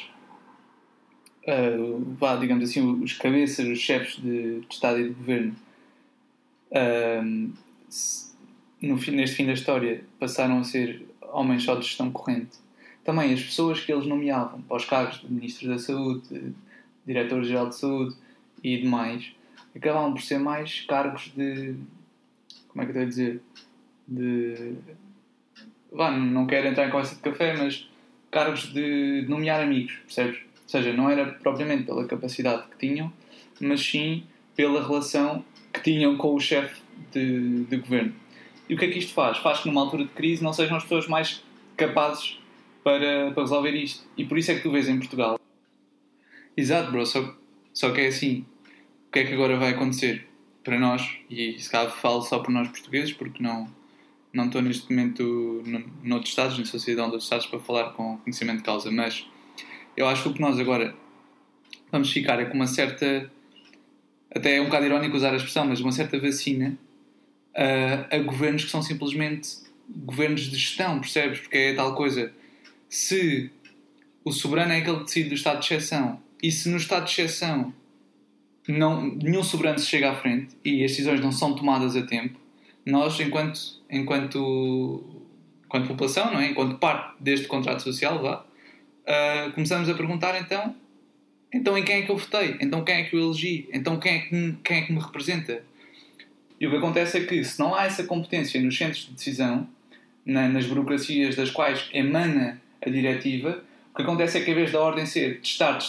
digamos assim, os cabeças, os chefes de Estado e de Governo, neste fim da história, passaram a ser homens só de gestão corrente, também as pessoas que eles nomeavam para os cargos de Ministro da Saúde, de Diretor-Geral de Saúde e demais, acabavam por ser mais cargos de... Como é que eu estou a dizer? Não quero entrar em conversa de café, mas cargos de nomear amigos, percebes? Ou seja, não era propriamente pela capacidade que tinham, mas sim pela relação que tinham com o chefe de governo. E o que é que isto faz? Faz que numa altura de crise não sejam as pessoas mais capazes para resolver isto. E por isso é que tu vês em Portugal. Exato, bro, só que é assim. O que é que agora vai acontecer para nós? E se calhar falo só por nós portugueses, porque não estou neste momento noutros Estados, na sociedade de outros Estados, para falar com conhecimento de causa, mas eu acho que o que nós agora vamos ficar é com uma certa, até é um bocado irónico usar a expressão, mas uma certa vacina a governos que são simplesmente governos de gestão, percebes? Porque é tal coisa, se o soberano é aquele que decide do estado de exceção, e se no estado de exceção nenhum soberano se chega à frente e as decisões não são tomadas a tempo, nós, enquanto população, não é? Enquanto parte deste contrato social, começamos a perguntar então em quem é que eu votei? Então quem é que eu elegi? Então quem é que me representa? E o que acontece é que, se não há essa competência nos centros de decisão, nas burocracias das quais emana a diretiva, o que acontece é que, em vez da ordem ser testar,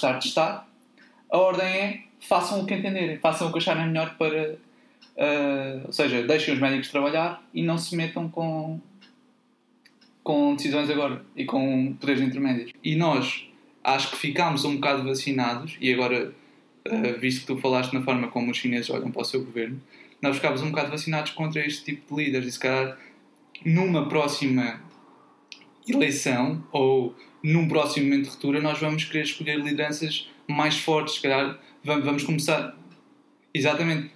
a ordem é façam o que entenderem, façam o que acharem melhor para... ou seja, deixem os médicos trabalhar e não se metam com decisões agora e com poderes intermédios. E nós, acho que ficámos um bocado vacinados, e agora, visto que tu falaste na forma como os chineses olham para o seu governo, nós ficámos um bocado vacinados contra este tipo de líderes, e se calhar numa próxima eleição ou num próximo momento de ruptura nós vamos querer escolher lideranças mais fortes, se calhar vamos começar... Exatamente.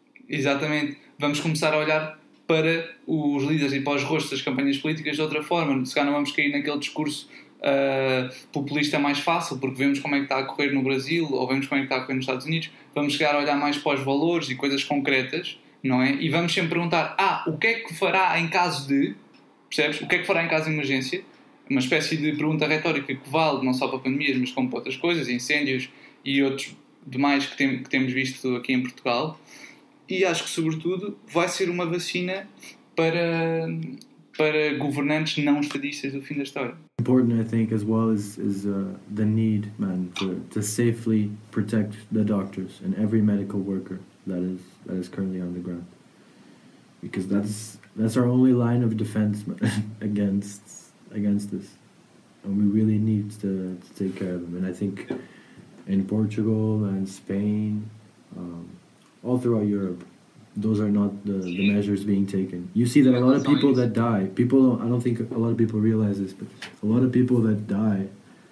Vamos começar a olhar para os líderes e para os rostos das campanhas políticas de outra forma. Se calhar não vamos cair naquele discurso populista mais fácil, porque vemos como é que está a correr no Brasil ou vemos como é que está a correr nos Estados Unidos. Vamos chegar a olhar mais para os valores e coisas concretas, não é? E vamos sempre perguntar, o que é que fará em caso de... Percebes? O que é que fará em caso de emergência? Uma espécie de pergunta retórica que vale não só para pandemias, mas como para outras coisas, incêndios e outros demais que temos visto aqui em Portugal. E acho que, sobretudo, vai ser uma vacina para governantes não estadistas do fim da história. Important, I think, as well is the need, man, to safely protect the doctors and every medical worker that is currently on the ground, because that's our only line of defense against this, and we really need to take care of them. And I think in Portugal and Spain, all throughout Europe, those are not the measures being taken. You see that a lot of people that die, I don't think a lot of people realize this, but a lot of people that die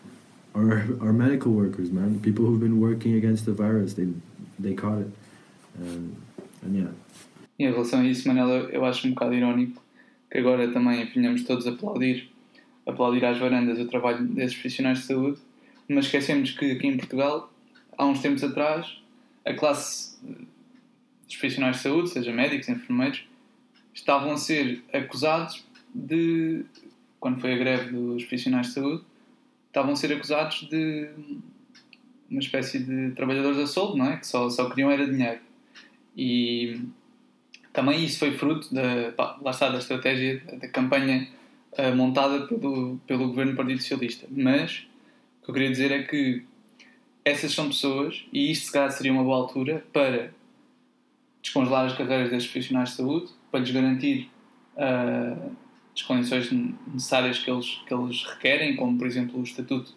our medical workers, man, people who've been working against the virus, they caught it, and yeah. E em relação a isso, Manela, eu acho um bocado irónico que agora também venhamos todos aplaudir às varandas o trabalho desses profissionais de saúde, mas esquecemos que aqui em Portugal, há uns tempos atrás, a classe dos profissionais de saúde, seja médicos, enfermeiros, estavam a ser acusados de, quando foi a greve dos profissionais de saúde, estavam a ser acusados de uma espécie de trabalhadores a soldo, não é? Que só queriam era dinheiro. E também isso foi fruto lá está, da estratégia, da campanha montada pelo governo do Partido Socialista. Mas o que eu queria dizer é que essas são pessoas, e isto se calhar seria uma boa altura para descongelar as carreiras destes profissionais de saúde, para lhes garantir as condições necessárias que eles requerem, como por exemplo o estatuto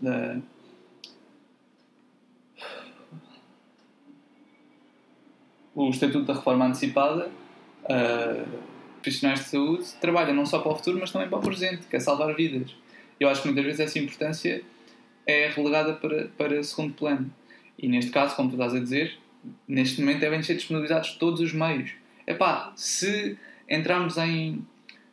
da reforma antecipada. Profissionais de saúde trabalham não só para o futuro, mas também para o presente, que é salvar vidas. Eu acho que muitas vezes essa importância é relegada para segundo plano. E neste caso, como tu estás a dizer, neste momento devem ser disponibilizados todos os meios. Se entrarmos em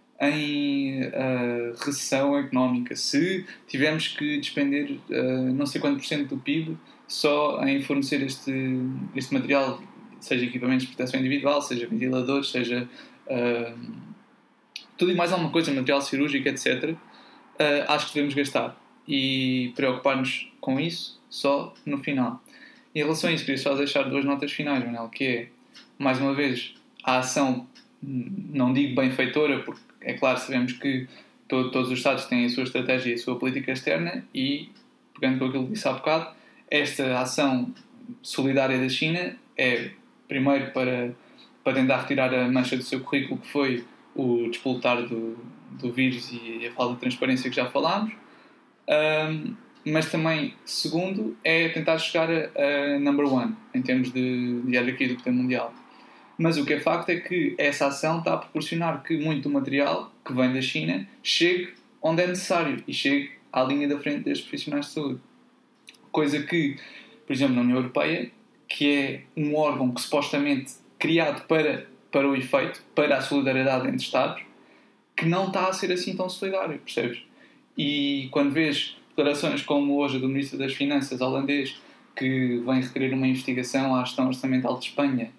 recessão económica, se tivermos que despender não sei quanto % do PIB só em fornecer este material, seja equipamentos de proteção individual, seja ventiladores, seja tudo e mais alguma coisa, material cirúrgico, etc., acho que devemos gastar e preocupar-nos com isso só no final. Em relação a isso, queria só deixar 2 notas finais, Manel, que é, mais uma vez, a ação, não digo benfeitora, porque é claro, sabemos que todos os Estados têm a sua estratégia e a sua política externa e, pegando com aquilo que disse há bocado, esta ação solidária da China é, primeiro, para tentar retirar a mancha do seu currículo, que foi o despoltar do vírus e a falta de transparência que já falámos, mas também, segundo, é tentar chegar a number one em termos de hierarquia do poder mundial. Mas o que é facto é que essa ação está a proporcionar que muito do material que vem da China chegue onde é necessário e chegue à linha da frente destes profissionais de saúde. Coisa que, por exemplo, na União Europeia, que é um órgão que supostamente criado para o efeito, para a solidariedade entre Estados, que não está a ser assim tão solidário, percebes? E quando vês declarações como hoje a do Ministro das Finanças holandês, que vem requerer uma investigação à gestão orçamental de Espanha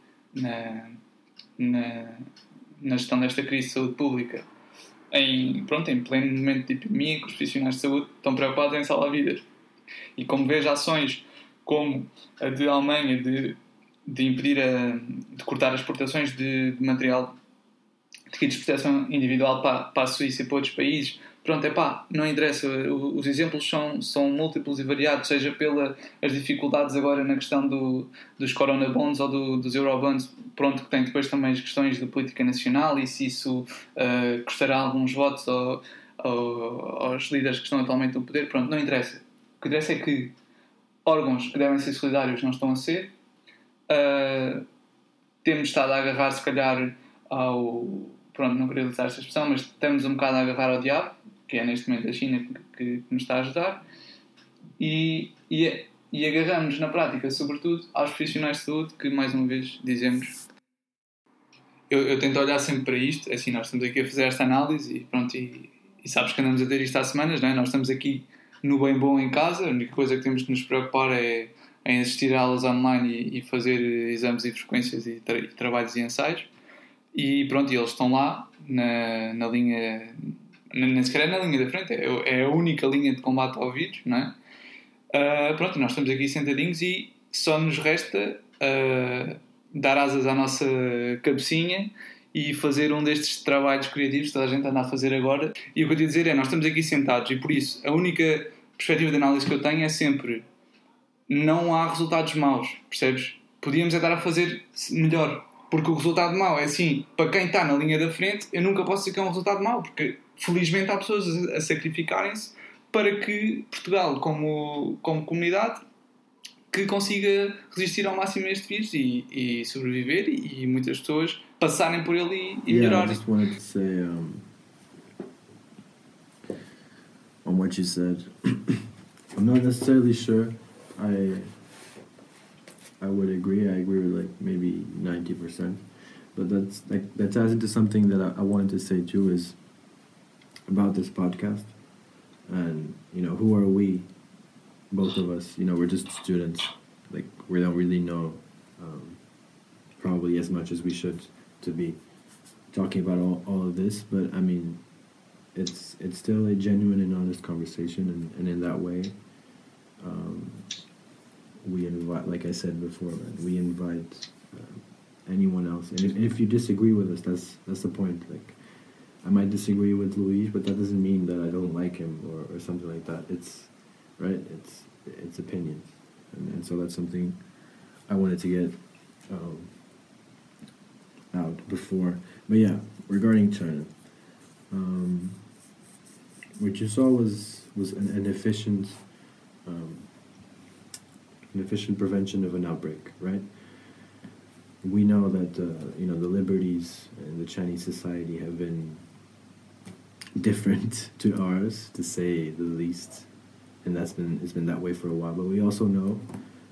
na gestão desta crise de saúde pública, em pleno momento de epidemia, que os profissionais de saúde estão preocupados em salvar vidas. E como vês ações como a de Alemanha de impedir de cortar as exportações de material de kits de proteção individual para a Suíça e para outros países, não interessa, os exemplos são múltiplos e variados, seja pelas dificuldades agora na questão dos Corona Bonds ou dos Eurobonds, que tem depois também as questões de política nacional e se isso custará alguns votos aos líderes que estão atualmente no poder, não interessa. O que interessa é que órgãos que devem ser solidários não estão a ser. Temos estado a agarrar, se calhar, não queria utilizar esta expressão, mas estamos um bocado a agarrar ao diabo, que é neste momento a China que nos está a ajudar, e agarramos na prática, sobretudo, aos profissionais de saúde, que mais uma vez dizemos. Eu tento olhar sempre para isto, assim, nós estamos aqui a fazer esta análise e sabes que andamos a ter isto há semanas, não é? Nós estamos aqui no bem bom em casa, a única coisa que temos que nos preocupar é em assistir a aulas online e fazer exames e frequências e trabalhos e ensaios. E eles estão lá na linha, nem sequer é na linha da frente, é a única linha de combate ao vírus, não é? Nós estamos aqui sentadinhos e só nos resta dar asas à nossa cabecinha e fazer um destes trabalhos criativos que toda a gente anda a fazer agora. E o que eu te ia dizer é, nós estamos aqui sentados e por isso a única perspectiva de análise que eu tenho é sempre: não há resultados maus, percebes? Podíamos estar a fazer melhor, porque o resultado mau é assim, para quem está na linha da frente, eu nunca posso dizer que é um resultado mau, porque felizmente há pessoas a sacrificarem-se para que Portugal, como comunidade, que consiga resistir ao máximo a este vírus e sobreviver, e muitas pessoas passarem por ele e melhorarem. I just wanted to say on what you said I'm not necessarily sure. I would agree. I agree with like maybe 90%. But that ties into something that I wanted to say too is about this podcast. And who are we? Both of us. We're just students. Like we don't really know probably as much as we should to be talking about all of this. But I mean, it's still a genuine and honest conversation, and in that way, we invite, like I said before, man, we invite anyone else. And if you disagree with us, that's the point. Like, I might disagree with Luis, but that doesn't mean that I don't like him or something like that. It's right. It's opinions, and so that's something I wanted to get out before. But yeah, regarding China, what you saw was an efficient prevention of an outbreak, right? We know that the liberties in the Chinese society have been different to ours, to say the least, and it's been that way for a while. But we also know,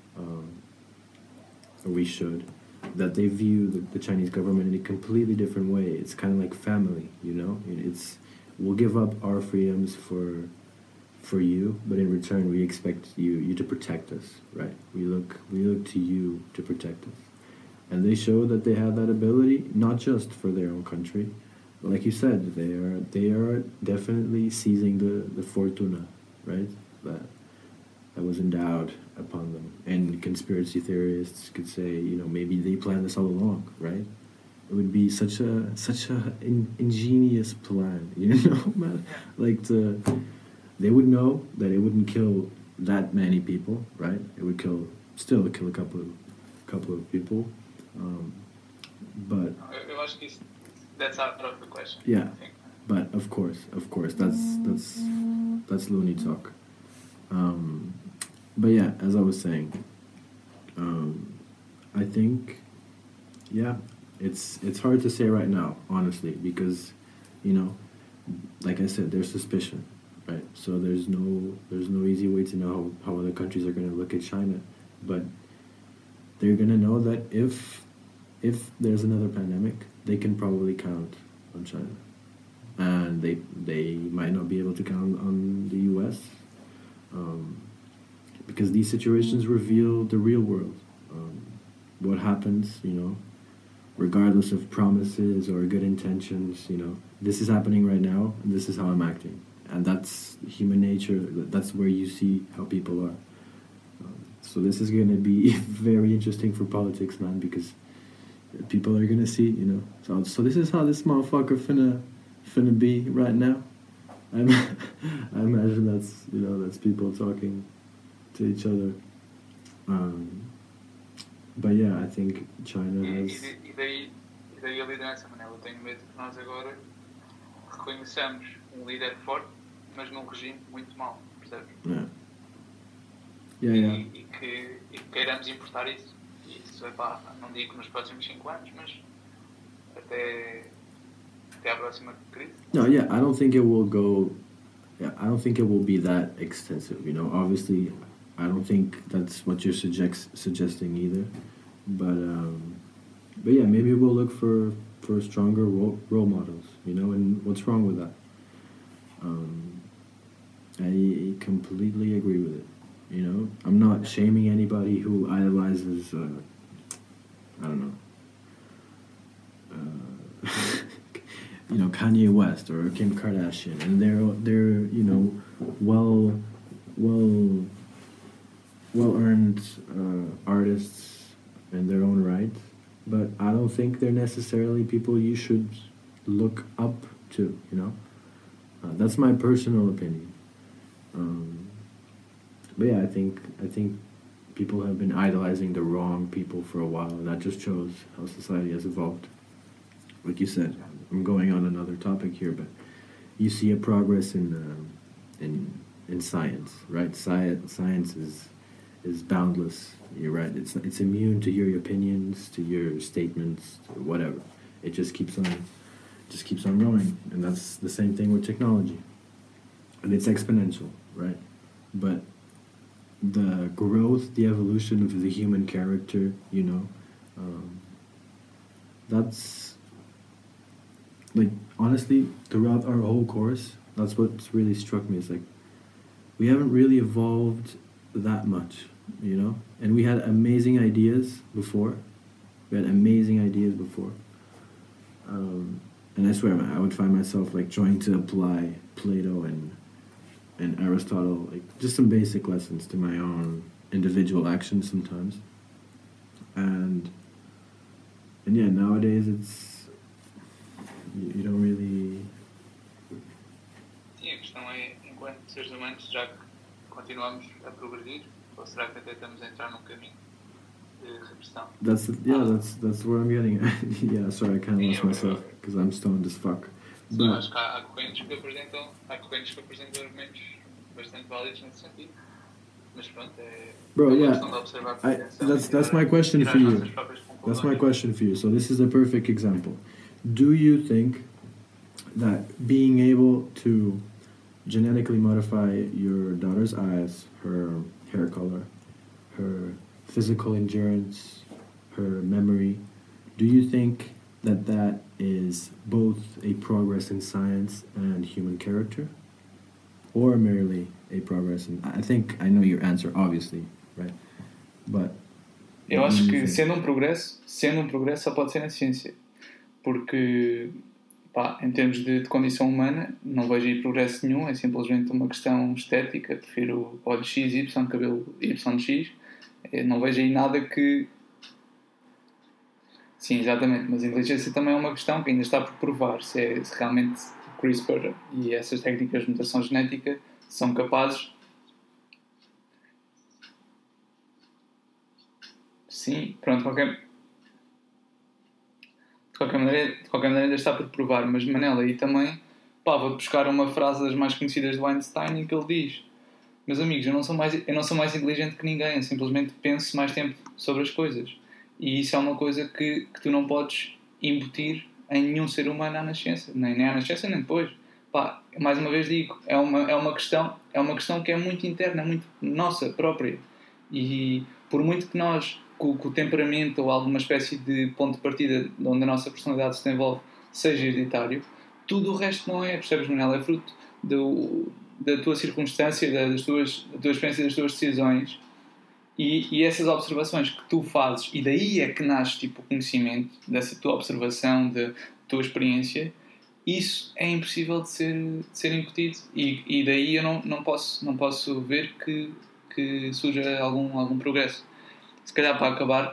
or we should, that they view the Chinese government in a completely different way. It's kind of like family, It's we'll give up our freedoms for you, but in return we expect you to protect us, right? We look to you to protect us, and they show that they have that ability, not just for their own country, but like you said, they are definitely seizing the fortuna, right? That was endowed upon them, and conspiracy theorists could say, maybe they planned this all along, right? It would be such a ingenious plan, man. Like they would know that it wouldn't kill that many people, right? It would still kill a couple of people, but eu acho que that's out of the question. Yeah, but of course, that's loony talk. But yeah, as I was saying, I think, yeah, it's hard to say right now, honestly, because, like I said, there's suspicion, right? So there's no easy way to know how other countries are going to look at China, but they're going to know that if there's another pandemic, they can probably count on China, and they might not be able to count on the U.S. Because these situations reveal the real world. What happens, regardless of promises or good intentions, this is happening right now, and this is how I'm acting. And that's human nature. That's where you see how people are. So this is going to be very interesting for politics, man, because people are going to see, So this is how this motherfucker finna be right now. I imagine that's people talking to each other. But yeah, I think China has... E daí a liderança, Manel. Eu tenho medo que nós agora reconheçamos líder forte, mas num regime muito mau, percebes? E que queiramos importar isso. E isso é pá, não digo nos próximos 5 anos, mas até a próxima crise. No, yeah, I don't think it will go... Yeah, I don't think it will be that extensive, Obviously, I don't think that's what you're suggesting either. But yeah, maybe we'll look for stronger role models, and what's wrong with that? I completely agree with it, I'm not shaming anybody who idolizes, I don't know, Kanye West or Kim Kardashian, and they're well-earned artists in their own right, but I don't think they're necessarily people you should look up to, that's my personal opinion. But yeah, I think people have been idolizing the wrong people for a while, and that just shows how society has evolved. Like you said, I'm going on another topic here, but you see a progress in science, right? Science is boundless. You're right. It's immune to your opinions, to your statements, to whatever. It just keeps on going, and that's the same thing with technology. And it's exponential, right? But the growth, the evolution of the human character, you know. That's, like, honestly, throughout our whole course, that's what's really struck me. It's like, we haven't really evolved that much, you know? And we had amazing ideas before. And I swear, I would find myself, like, trying to apply Plato and Aristotle, like, just some basic lessons to my own individual actions sometimes. And yeah, nowadays it's, you don't really... Sim, a questão é, enquanto seres humanos, já que continuamos a progredir, ou será que até estamos a entrar num caminho de regressão? That's where I'm getting at. Yeah, sorry, I kind of lost myself because I'm stoned as fuck. Sim, acho que há correntes que apresentam argumentos bastante válidos nesse sentido. Mas pronto, Bro, yeah. Questão de observar That's my question for you. That's my question for you. So this is a perfect example. Do you think that being able to genetically modify your daughter's eyes, her hair color, her physical endurance, her memory, do you think that is both a progress in science and human character, or merely a progress in... I think I know your answer, obviously, right? But eu acho que sendo um progresso só pode ser na ciência, porque em termos de condição humana não vejo aí progresso nenhum, é simplesmente uma questão estética. Prefiro olhos X, Y, cabelo YX. Não vejo aí nada que... Sim, exatamente, mas a inteligência também é uma questão que ainda está por provar se realmente CRISPR e essas técnicas de mutação genética são capazes... Sim, pronto, de qualquer maneira ainda está por provar, mas Manela, aí também, vou buscar uma frase das mais conhecidas do Einstein em que ele diz: meus amigos, eu não sou mais inteligente que ninguém, eu simplesmente penso mais tempo sobre as coisas. E isso é uma coisa que tu não podes embutir em nenhum ser humano à nascença, nem à nascença nem depois. Mais uma vez digo, é uma questão que é muito interna, muito nossa própria. E por muito que nós, com o temperamento ou alguma espécie de ponto de partida onde a nossa personalidade se desenvolve, seja hereditário, tudo o resto não é, percebes, Manela? É fruto da tua circunstância, da tua experiência, das tuas decisões e essas observações que tu fazes, e daí é que nasce tipo, o conhecimento, dessa tua observação, da tua experiência. Isso é impossível de ser incutido e daí eu não posso ver que surja algum progresso. Se calhar, para acabar,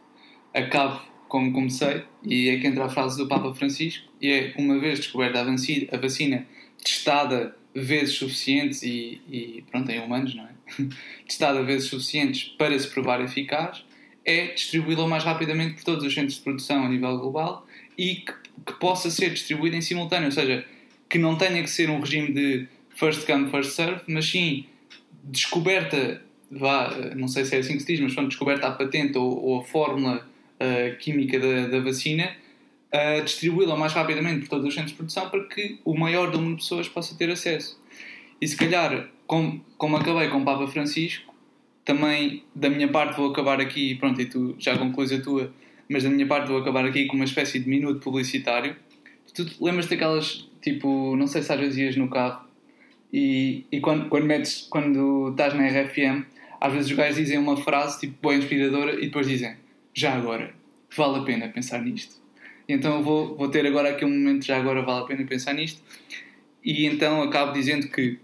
acabo como comecei, e é que entra a frase do Papa Francisco, e é: uma vez descoberta a vacina, testada vezes suficientes e pronto, em humanos, não é? Testada vezes suficientes para se provar eficaz, é distribuí-la o mais rapidamente por todos os centros de produção a nível global e que possa ser distribuída em simultâneo, ou seja, que não tenha que ser um regime de first come, first serve, mas sim descoberta, não sei se é assim que se diz, mas pronto, descoberta a patente ou a fórmula química da vacina, distribuí-la o mais rapidamente por todos os centros de produção para que o maior número de pessoas possa ter acesso. E se calhar, como acabei com o Papa Francisco, também da minha parte vou acabar aqui, pronto, e tu já concluís a tua, mas da minha parte vou acabar aqui com uma espécie de minuto publicitário. Tu lembras daquelas, tipo, não sei se às vezes ias no carro e quando estás na RFM, às vezes os gajos dizem uma frase tipo bem inspiradora e depois dizem: já agora, vale a pena pensar nisto. E então eu vou ter agora aqui um momento de já agora vale a pena pensar nisto. E então acabo dizendo que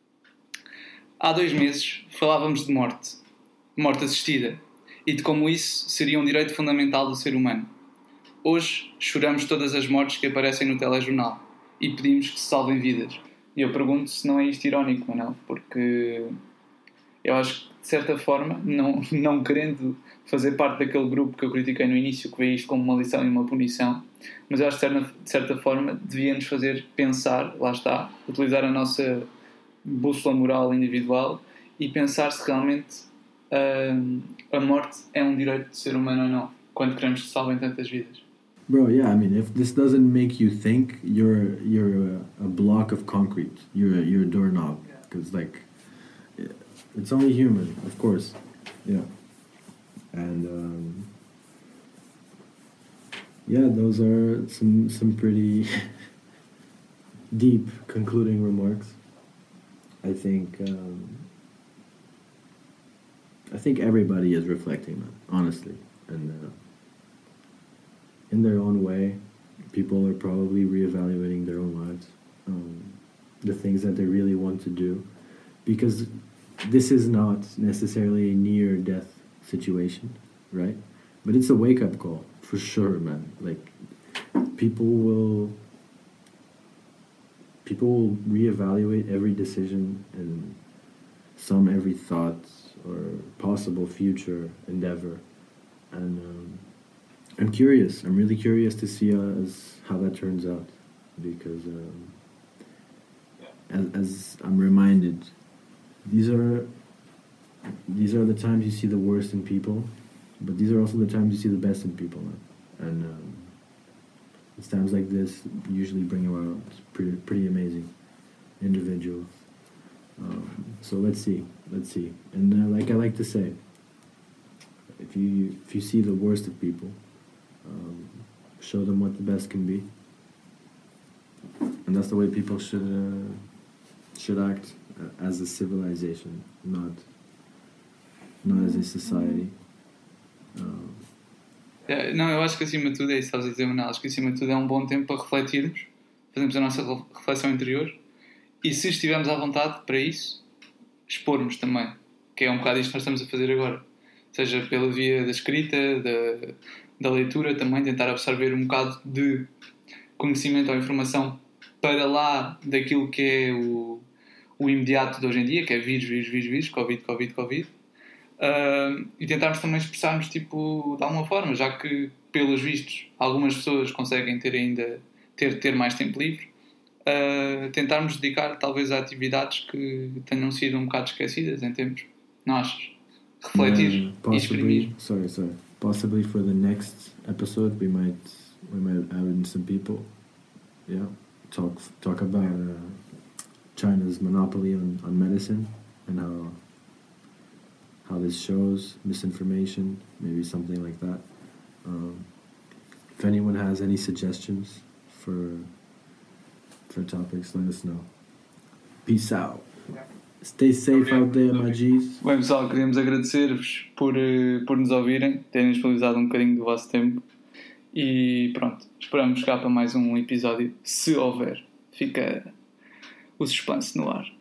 há 2 meses falávamos de morte assistida, e de como isso seria um direito fundamental do ser humano. Hoje choramos todas as mortes que aparecem no telejornal e pedimos que se salvem vidas. E eu pergunto se não é isto irónico ou não, porque eu acho que, de certa forma, não querendo fazer parte daquele grupo que eu critiquei no início, que vê isto como uma lição e uma punição, mas eu acho que, de certa forma, devia-nos fazer pensar, lá está, utilizar a nossa bússola moral individual e pensar se realmente a morte é um direito do ser humano ou não, quando queremos que se salvem tantas vidas. Bro, yeah, I mean, if this doesn't make you think, you're a block of concrete. You're a doorknob, because like It's only human, of course. Yeah. And yeah, those are some pretty deep concluding remarks. I think everybody is reflecting, man, honestly, and in their own way, people are probably reevaluating their own lives, the things that they really want to do, because this is not necessarily a near-death situation, right? But it's a wake-up call for sure, man. Like people will reevaluate every decision and every thought or possible future endeavor, and I'm curious. I'm really curious to see how that turns out, because as I'm reminded, these are the times you see the worst in people, but these are also the times you see the best in people, man. And it's times like this usually bring around pretty amazing individuals. So let's see, and like I like to say, if you see the worst of people, show them what the best can be, and that's the way people should act as a civilization, not as a society. Não, eu acho que acima de tudo é isso que estás a dizer, Manuel. Acho que acima de tudo é um bom tempo para refletirmos, fazermos a nossa reflexão interior, e se estivermos à vontade para isso, expormos também, que é um bocado isto que nós estamos a fazer agora, seja pela via da escrita, da leitura, também tentar absorver um bocado de conhecimento ou informação para lá daquilo que é o imediato de hoje em dia, que é vírus, Covid, e tentarmos também expressarmos tipo, de alguma forma, já que pelos vistos algumas pessoas conseguem ter mais tempo livre, tentarmos dedicar talvez a atividades que tenham sido um bocado esquecidas em tempos, não achas? Refletir e exprimir. Sorry. Possibly for the next episode we might add in some people. Yeah, talk about China's monopoly on medicine and how this shows misinformation, maybe something like that. If anyone has any suggestions for topics, let us know. Peace out. Stay safe out there, my G's. Bem, pessoal, queríamos agradecer-vos por nos ouvirem, terem disponibilizado um bocadinho do vosso tempo. E pronto, esperamos chegar para mais um episódio, se houver. Fica o suspense no ar.